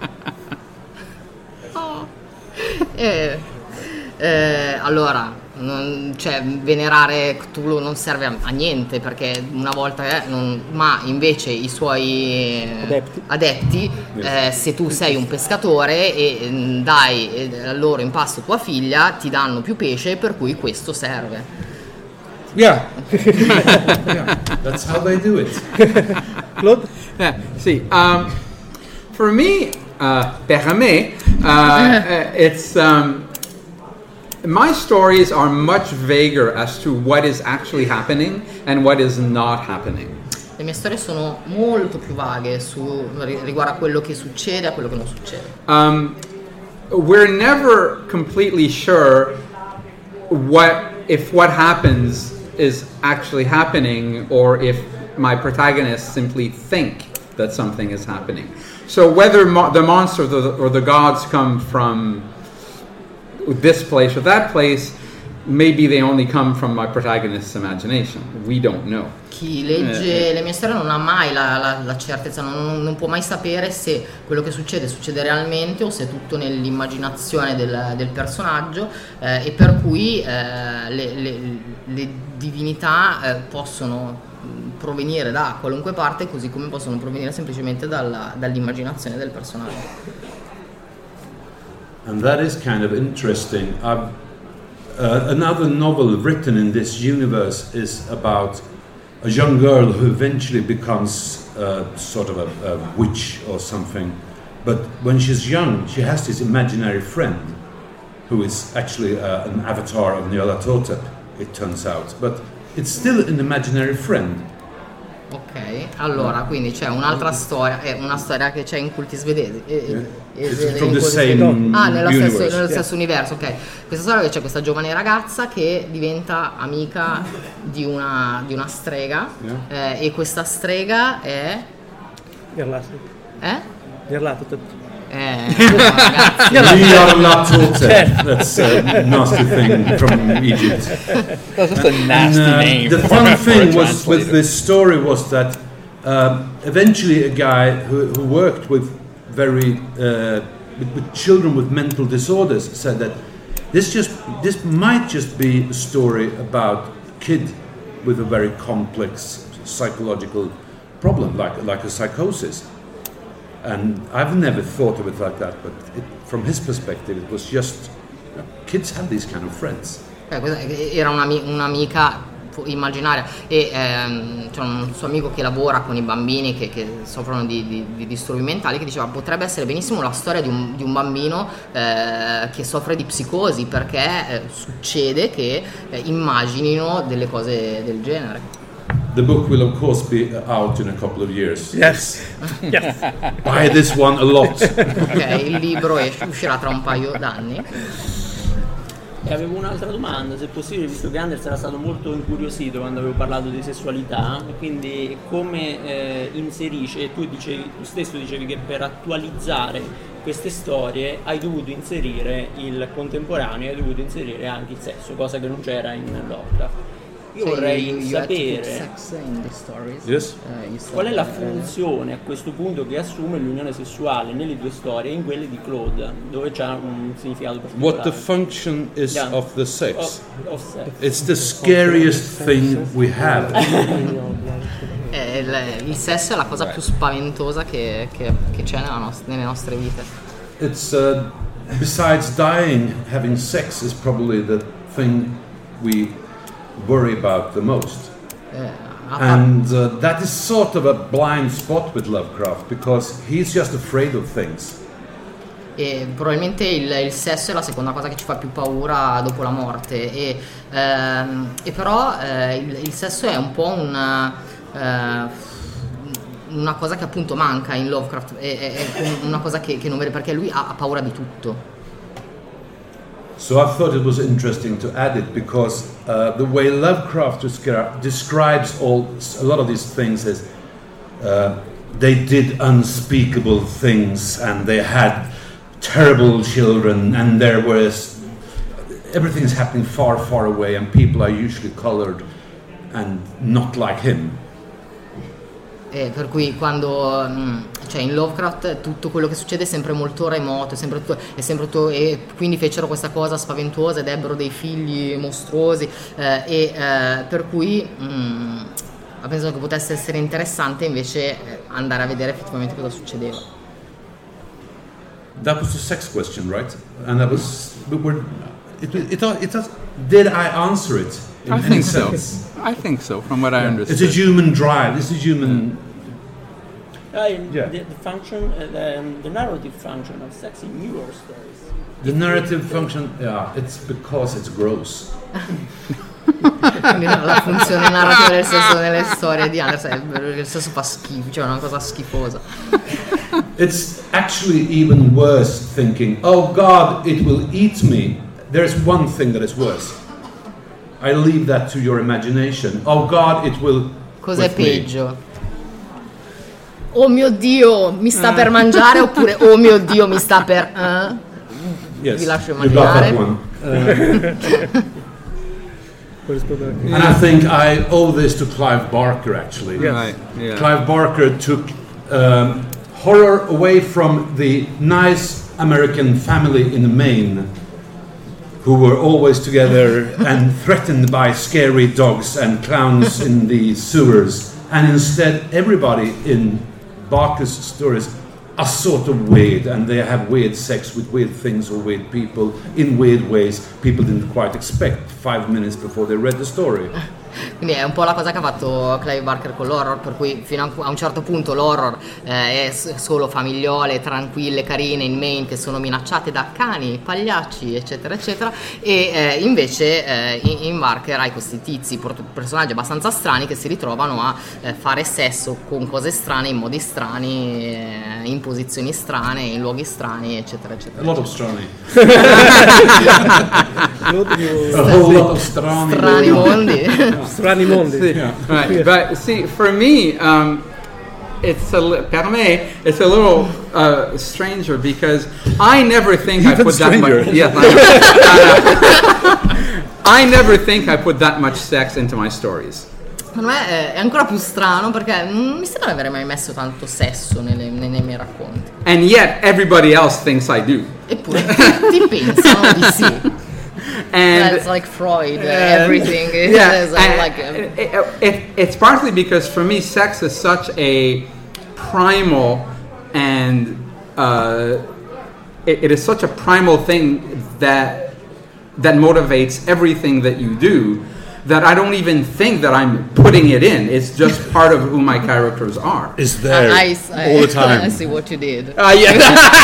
Oh. Eh, eh, allora non, cioè, venerare Cthulhu non serve a, a niente, perché una volta eh, non, ma invece i suoi eh, Adepti. adepti, eh, se tu sei un pescatore e mm, dai eh, loro in pasto tua figlia, ti danno più pesce, per cui questo serve. Yeah. Yeah. That's how they do it. Claude? Yeah, see, um, for me, uh, per me, uh, uh, it's um, my stories are much vaguer as to what is actually happening and what is not happening. Le mie storie sono molto più vaghe su, riguardo a quello che succede e a quello che non succede. Um, we're never completely sure what if what happens is actually happening, or if my protagonists simply think that something is happening. So whether mo- the monster or the, or the gods come from this place or that place, maybe they only come from my protagonist's imagination. We don't know. Chi legge Eh, le mie storie non ha mai la, la- la certezza, non, non può mai sapere se quello che succede succede realmente o se è tutto nell'immaginazione del, del personaggio, eh, e per cui eh, le, le- le divinità eh, possono provenire da qualunque parte, così come possono provenire semplicemente dalla, dall'immaginazione del personaggio. And that is kind of interesting. I've, uh, another novel written in this universe is about a young girl who eventually becomes uh, sort of a, a witch or something. But when she's young, she has this imaginary friend who is actually uh, an avatar of Nyarlathotep, it turns out. But it's still an imaginary friend. Ok, allora quindi c'è un'altra storia, è una storia che c'è in culti svedesi. Yeah. E, It's from the same ah, nello universe. stesso, nello Yeah. stesso universo, ok. Questa storia, che c'è questa giovane ragazza che diventa amica di una, di una strega, Yeah. eh, e questa strega è... Nyarlathotep. Eh? Nyarlathotep. Eh, ragazzi. Nyarlathotep. That's a nasty thing from Egypt. That's just a nasty And, uh, name. the for- fun for a thing was with translator. this story was that um, eventually a guy who, who worked with very uh, with, with children with mental disorders said that this just this might just be a story about a kid with a very complex psychological problem, like like a psychosis. And I've never thought of it like that, but it, from his perspective, it was just you know, kids have these kind of friends. Eh, questa era un'ami- un'amica immaginaria, e ehm, c'è un suo amico che lavora con i bambini che, che soffrono di, di, di disturbi mentali, che diceva potrebbe essere benissimo la storia di un, di un bambino eh, che soffre di psicosi, perché eh, succede che eh, immaginino delle cose del genere. The book will of course be out in a couple of years. Yes. Yes. Buy this one a lot. Ok, il libro esce- uscirà tra un paio d'anni. E avevo un'altra domanda, se possibile, visto che Anders era stato molto incuriosito quando avevo parlato di sessualità, e quindi come eh, inserisce, tu, dicevi, tu stesso dicevi che per attualizzare queste storie hai dovuto inserire il contemporaneo, hai dovuto inserire anche il sesso, cosa che non c'era in Lovecraft. Io vorrei You- you had to put sapere sex in the stories. Yes. Eh, you said qual è la that earlier. funzione a questo punto che assume l'unione sessuale nelle due storie e in quelle di Claude, dove c'ha un significato particolare. What the function is Yeah. of the sex? Of- of sex. It's the scariest thing we have. Eh, il, il sesso è la cosa più spaventosa che, che- che c'è nella nost- nelle nostre vite. It's uh, besides dying, having sex is probably the thing we worry about the most. Eh, a par- And uh, that is sort of a blind spot with Lovecraft because he's just afraid of things. E probabilmente il, il sesso è la seconda cosa che ci fa più paura dopo la morte, e, ehm, e però eh, il, il sesso è un po' una, eh, una cosa che appunto manca in Lovecraft, è, è- è una cosa che, che non vede, perché lui ha, ha paura di tutto. So I thought it was interesting to add it because uh, the way Lovecraft descri- describes all a lot of these things is uh, they did unspeakable things and they had terrible children and there was everything is happening far, far away and people are usually colored and not like him. E per cui quando mh, cioè in Lovecraft tutto quello che succede è sempre molto remoto, è sempre tutto, è sempre tutto, e quindi fecero questa cosa spaventosa ed ebbero dei figli mostruosi, eh, e eh, per cui mh, ho pensato che potesse essere interessante invece eh, andare a vedere effettivamente cosa succedeva. That was the sex question, right? And that was we were it it, it, it did I answer it in I any think so. sense? I think so, from what I It's understood. a human drive. It's a human. Uh, in Yeah. the, the function, uh, the, um, the narrative function of sex in your stories. The narrative function, yeah, it's because it's gross. Quindi la funzione narrativa del sesso nelle storie di Anderson è che il sesso fa schifo, cioè è una cosa schifosa. It's actually even worse thinking, oh God, it will eat me. There's one thing that is worse. I leave that to your imagination. Oh God, it will. Cos'è with me. peggio? Oh mio Dio, mi sta per mangiare, oppure oh mio Dio, mi sta per... eh? Yes, Vi lascio you got that immaginare. one. Puoi rispondere anche. And I think I owe this to Clive Barker, actually. Right, yeah. Clive Barker took um, horror away from the nice American family in Maine who were always together and threatened by scary dogs and clowns in the sewers. And instead, everybody in Barker's stories are sort of weird, and they have weird sex with weird things or weird people in weird ways people didn't quite expect five minutes before they read the story. Quindi è un po' la cosa che ha fatto Clive Barker con l'horror, per cui fino a un certo punto l'horror eh, è solo famigliole, tranquille, carine in Maine che sono minacciate da cani, pagliacci, eccetera eccetera, e eh, invece eh, in, in Barker hai questi tizi, personaggi abbastanza strani che si ritrovano a eh, fare sesso con cose strane, in modi strani, eh, in posizioni strane, in luoghi strani, eccetera eccetera. A lot of strani. A whole lot of strani. Strani mondi. Strani mondi. See, Yeah. right, but see, for me, um, it's a li- per me, it's a little uh, stranger because I never think I Even put stranger. that much. Yes, I, I never think I put that much sex into my stories. Secondo me è ancora più strano perché non mi sembra di avere mai messo tanto sesso nelle, nei, nei miei racconti. And yet everybody else thinks I do. Eppure tutti pensano di sì. And That's like Freud, uh, and- everything is yeah, is, uh, and like uh, it, it, it's partly because for me sex is such a primal and uh, it, it is such a primal thing that that motivates everything that you do that I don't even think that I'm putting it in. It's just part of who my characters are. Is there I, I, all the time. I see what you did. Uh, yeah.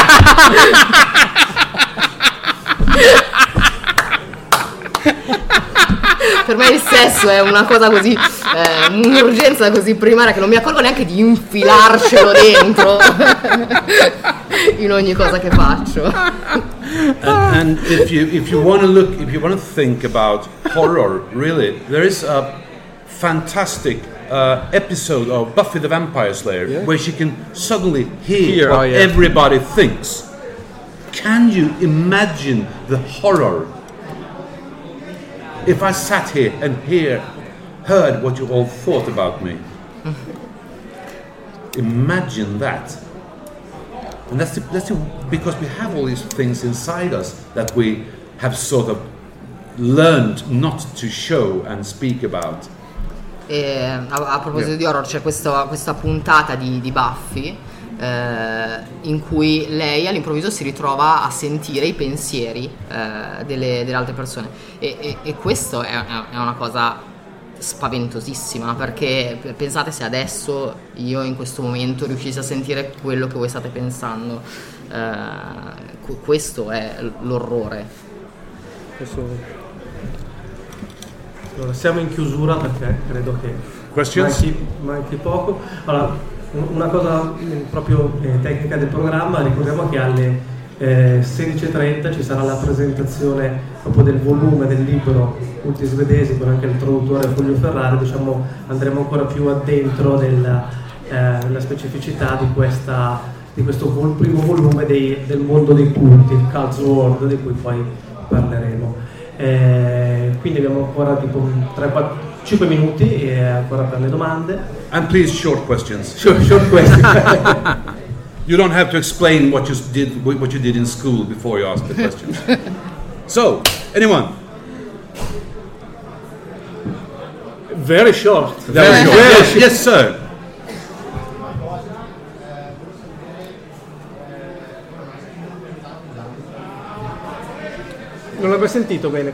Per me il sesso è una cosa così, eh, un'urgenza così primaria che non mi accorgo neanche di infilarcelo dentro in ogni cosa che faccio. And, and if you if you want to look, if you want to think about horror, really, there is a fantastic uh, episode of Buffy the Vampire Slayer where she can suddenly hear, Hear, what oh, yeah. everybody thinks. Can you imagine the horror if I sat here and hear, heard what you all thought about me? Imagine that. And that's, the, that's the, because we have all these things inside us that we have sort of learned not to show and speak about. E a, a proposito di horror c'è questa, questa puntata di, di Buffy eh, in cui lei all'improvviso si ritrova a sentire i pensieri eh, delle, delle altre persone e, e, e questo è, è una cosa spaventosissima, perché pensate se adesso io in questo momento riuscissi a sentire quello che voi state pensando, eh, questo è l'orrore. Allora, siamo in chiusura perché credo che Questions? manchi, manchi poco. Allora, un- una cosa eh, proprio eh, tecnica del programma, ricordiamo che alle eh, sedici e trenta ci sarà la presentazione proprio del volume del libro Ultimi Svedesi con anche il traduttore Fulvio Ferrari. Diciamo, andremo ancora più addentro nella, eh, nella specificità di, questa, di questo vol- primo volume dei- del mondo dei culti, il Cults World, di cui poi parleremo. Eh, quindi abbiamo ancora tipo tre, quattro, cinque minuti e ancora per le domande. And please, short questions. Short, short question. You don't have to explain what you s- did, what you did in school before you ask the questions. So, anyone? Very short. Very short. Yes, yes, sir. Non l'avevo sentito bene.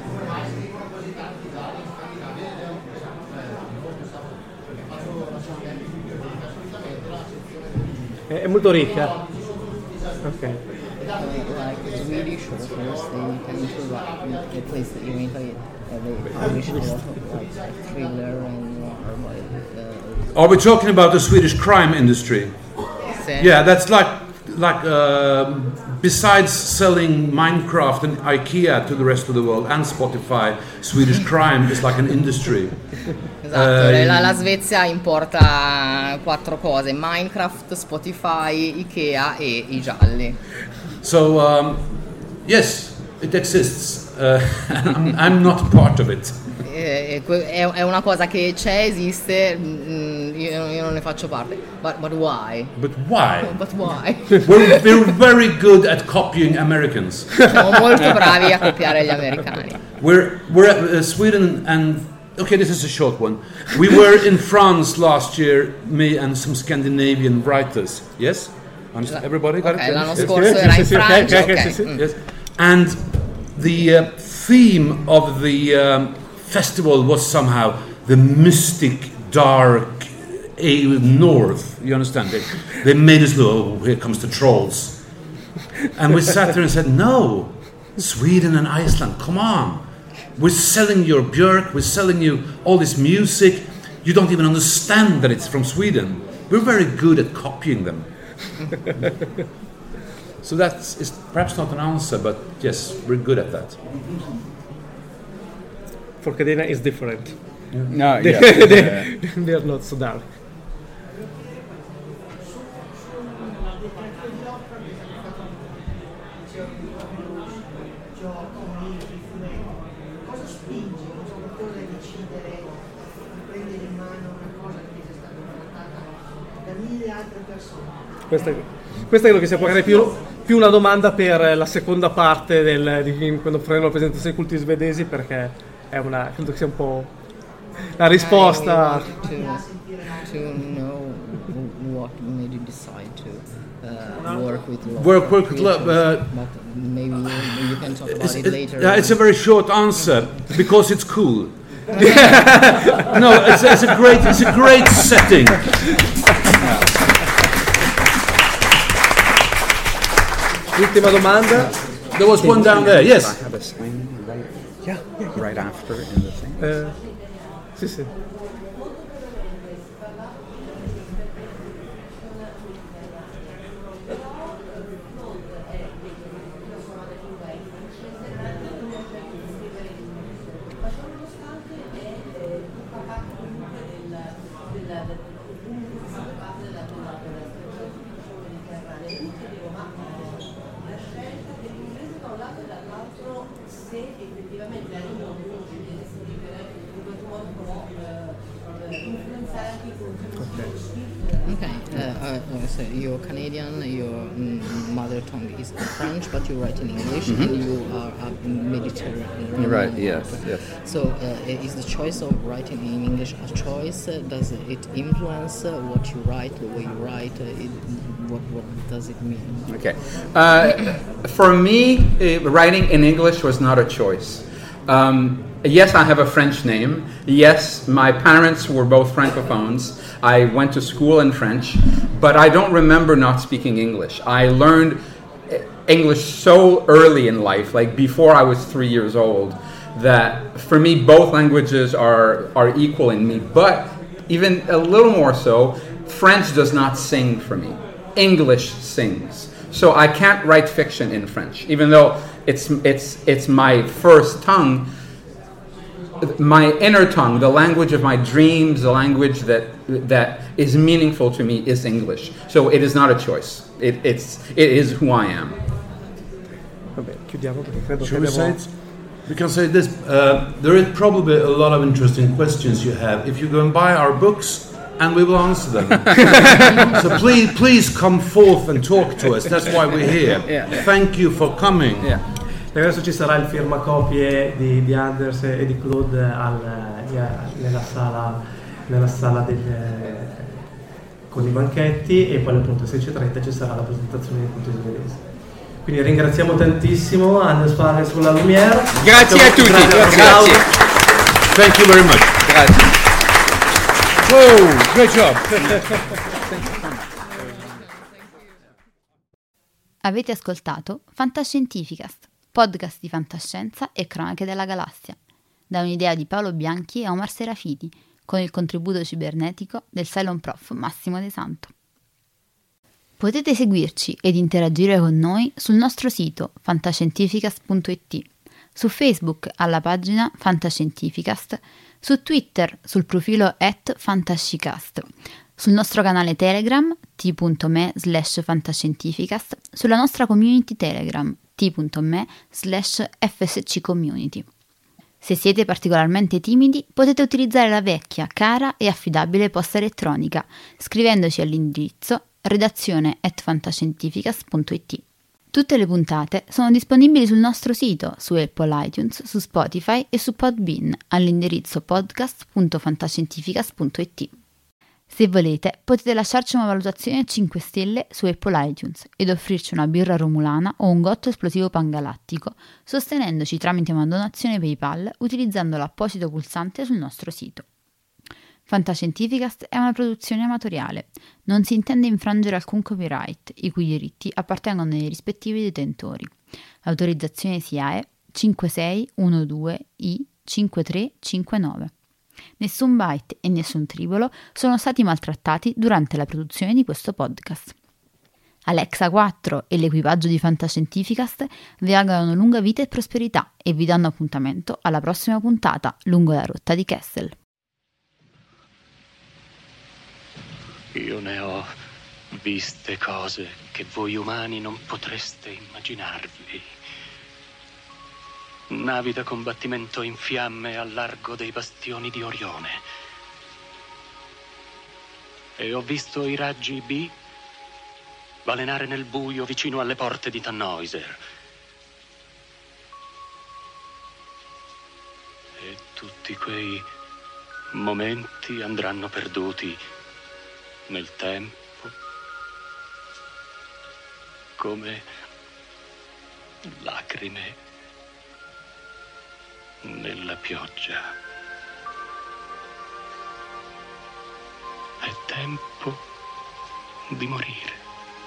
È, è molto ricca. Ok. Like Swedish authors, they tend to write the place that you make it. They publish a lot of like thriller and noir. Uh, Are we talking about the Swedish crime industry? sì. Yeah, that's like like um besides selling Minecraft and IKEA to the rest of the world and Spotify, Swedish crime is like an industry. Esatto, Eh, la, la Svezia importa quattro cose: Minecraft, Spotify, Ikea e i gialli. So um, yes, it exists. Uh, I'm, I'm not part of it. E, è, è, è una cosa che c'è, esiste, mm, io, io non ne faccio parte. But, but why? But why? But why? We're, we're very good at copying Americans. Siamo molto bravi a copiare gli americani. We're we're at uh, Sweden and okay, this is a short one. We were in France last year, me and some Scandinavian writers. Yes, Understand? Everybody got okay, it? l'anno Yes, scorso yes, era yes, in yes, Francia. okay, okay, Okay. yes, yes, Mm. yes. And the uh, theme of the um, festival was somehow the mystic, dark uh, north. You understand? They, they made us look. Oh, here comes the trolls. And we sat there and said, no. Sweden and Iceland, come on. We're selling your Björk, we're selling you all this music. You don't even understand that it's from Sweden. We're very good at copying them. So that's is perhaps not an answer, but yes, we're good at that. For Cadena is different. No, They, yeah. they, yeah. they are not so dark. Cosa spinge un giocatore a decidere di prendere in mano una cosa che è stata trattata da mille altre persone? Questa, questa credo che sia magari più, più una domanda per la seconda parte del, di quando faremo la presentazione dei culti svedesi, perché è una, credo che sia un po' la risposta. To, to know what made you decide to uh, work with love. Work, work with love. Uh, But maybe you, you can talk about it's, it it- later. yeah, it's a very short answer because it's cool. No, it's, it's a great, it's a great setting. L'ultima domanda. There was one down there. Yes. I have a sign right, Yeah, yeah, yeah. right after in the thing. Eh, sì, sì. Okay, uh, uh, so you're Canadian, your mm, mother tongue is French, but you write in English, and you are a Mediterranean. You're right, yes, yes. So, uh, is the choice of writing in English a choice? Uh, Does it influence uh, what you write, the way you write? Uh, it, what, what does it mean? Okay. Uh, for me, uh, writing in English was not a choice. Um, yes, I have a French name. Yes, my parents were both Francophones. I went to school in French, but I don't remember not speaking English. I learned English so early in life, like before I was three years old, that for me both languages are, are equal in me. But even a little more so, French does not sing for me. English sings. So I can't write fiction in French, even though it's it's it's my first tongue. My inner tongue, the language of my dreams, the language that that is meaningful to me is English. So it is not a choice. It it's it is who I am. Vabbè, chiudiamo perché credo Shall che we say abbiamo... it? We can say this. Uh, there is probably a lot of interesting questions you have. If you go and buy our books, and we will answer them. So please, please come forth and talk to us. That's why we're here. Yeah. Thank you for coming. Yeah. E adesso ci sarà il firmacopie di, di Anders e di Claude al, nella sala, nella sala del, con i banchetti, e poi appunto alle sedici e trenta ci sarà la presentazione dei culti svedesi. Quindi ringraziamo tantissimo Anders Fares con la Lumière. Grazie a tutti. Grazie. Thank you very much. Grazie. Whoa, great job. Avete ascoltato Fantascientificast, podcast di fantascienza e cronache della galassia, da un'idea di Paolo Bianchi e Omar Serafiti, con il contributo cibernetico del Cylon Prof Massimo De Santo. Potete seguirci ed interagire con noi sul nostro sito fantascientificast punto it, su Facebook alla pagina Fantascientificast, su Twitter sul profilo at fantascicast, sul nostro canale Telegram t.me slash fantascientificast, sulla nostra community Telegram t.me slash fsccommunity. Se siete particolarmente timidi, potete utilizzare la vecchia, cara e affidabile posta elettronica, scrivendoci all'indirizzo redazione at fantascientificast punto it. Tutte le puntate sono disponibili sul nostro sito, su Apple iTunes, su Spotify e su Podbean, all'indirizzo podcast punto fantascientificast punto it. Se volete, potete lasciarci una valutazione a cinque stelle su Apple iTunes ed offrirci una birra romulana o un gotto esplosivo pangalattico, sostenendoci tramite una donazione PayPal utilizzando l'apposito pulsante sul nostro sito. Fantascientificast è una produzione amatoriale, non si intende infrangere alcun copyright, i cui diritti appartengono ai rispettivi detentori. L'autorizzazione S I A E cinque sei uno due I cinque tre cinque nove. Nessun byte e nessun tribolo sono stati maltrattati durante la produzione di questo podcast. Alexa quattro e l'equipaggio di Fantascientificast vi augurano lunga vita e prosperità e vi danno appuntamento alla prossima puntata lungo la rotta di Kessel. Io ne ho viste cose che voi umani non potreste immaginarvi. Navi da combattimento in fiamme al largo dei bastioni di Orione. E ho visto i raggi B balenare nel buio vicino alle porte di Tannhäuser. E tutti quei momenti andranno perduti nel tempo, come lacrime nella pioggia. È tempo di morire.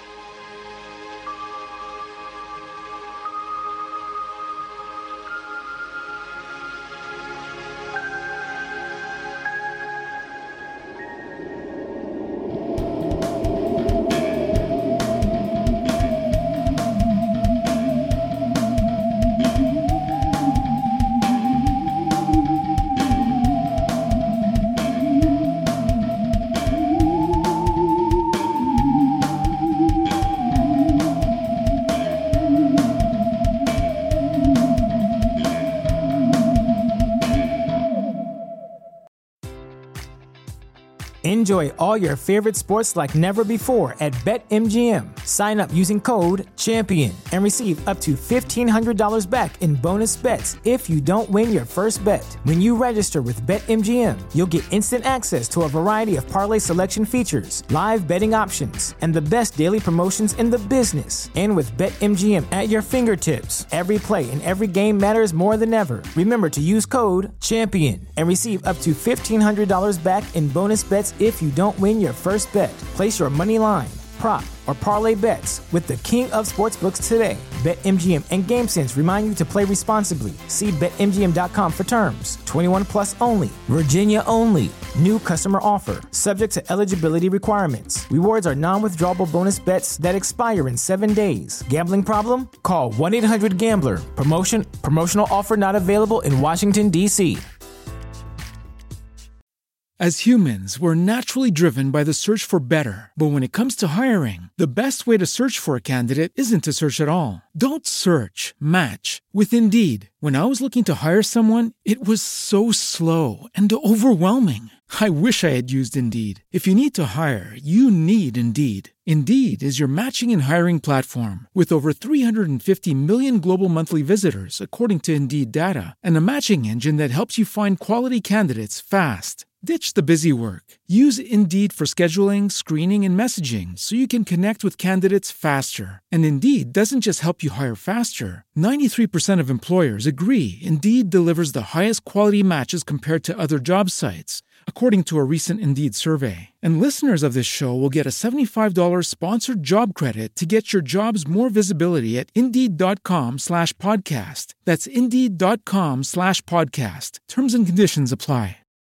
Enjoy all your favorite sports like never before at BetMGM. Sign up using code CHAMPION and receive up to fifteen hundred dollars back in bonus bets if you don't win your first bet. When you register with BetMGM, you'll get instant access to a variety of parlay selection features, live betting options, and the best daily promotions in the business. And with BetMGM at your fingertips, every play and every game matters more than ever. Remember to use code CHAMPION and receive up to fifteen hundred dollars back in bonus bets if you don't win your first bet. Place your money line, prop, or parlay bets with the king of sportsbooks today. BetMGM and GameSense remind you to play responsibly. See Bet M G M dot com for terms. twenty-one plus only. Virginia only. New customer offer. Subject to eligibility requirements. Rewards are non-withdrawable bonus bets that expire in seven days. Gambling problem? Call one eight hundred gambler. Promotion. Promotional offer not available in Washington, D C As humans, we're naturally driven by the search for better. But when it comes to hiring, the best way to search for a candidate isn't to search at all. Don't search, match with Indeed. When I was looking to hire someone, it was so slow and overwhelming. I wish I had used Indeed. If you need to hire, you need Indeed. Indeed is your matching and hiring platform with over three hundred fifty million global monthly visitors, according to Indeed data, and a matching engine that helps you find quality candidates fast. Ditch the busy work. Use Indeed for scheduling, screening, and messaging so you can connect with candidates faster. And Indeed doesn't just help you hire faster. ninety-three percent of employers agree Indeed delivers the highest quality matches compared to other job sites, according to a recent Indeed survey. And listeners of this show will get a seventy-five dollars sponsored job credit to get your jobs more visibility at Indeed.com slash podcast. That's Indeed.com slash podcast. Terms and conditions apply.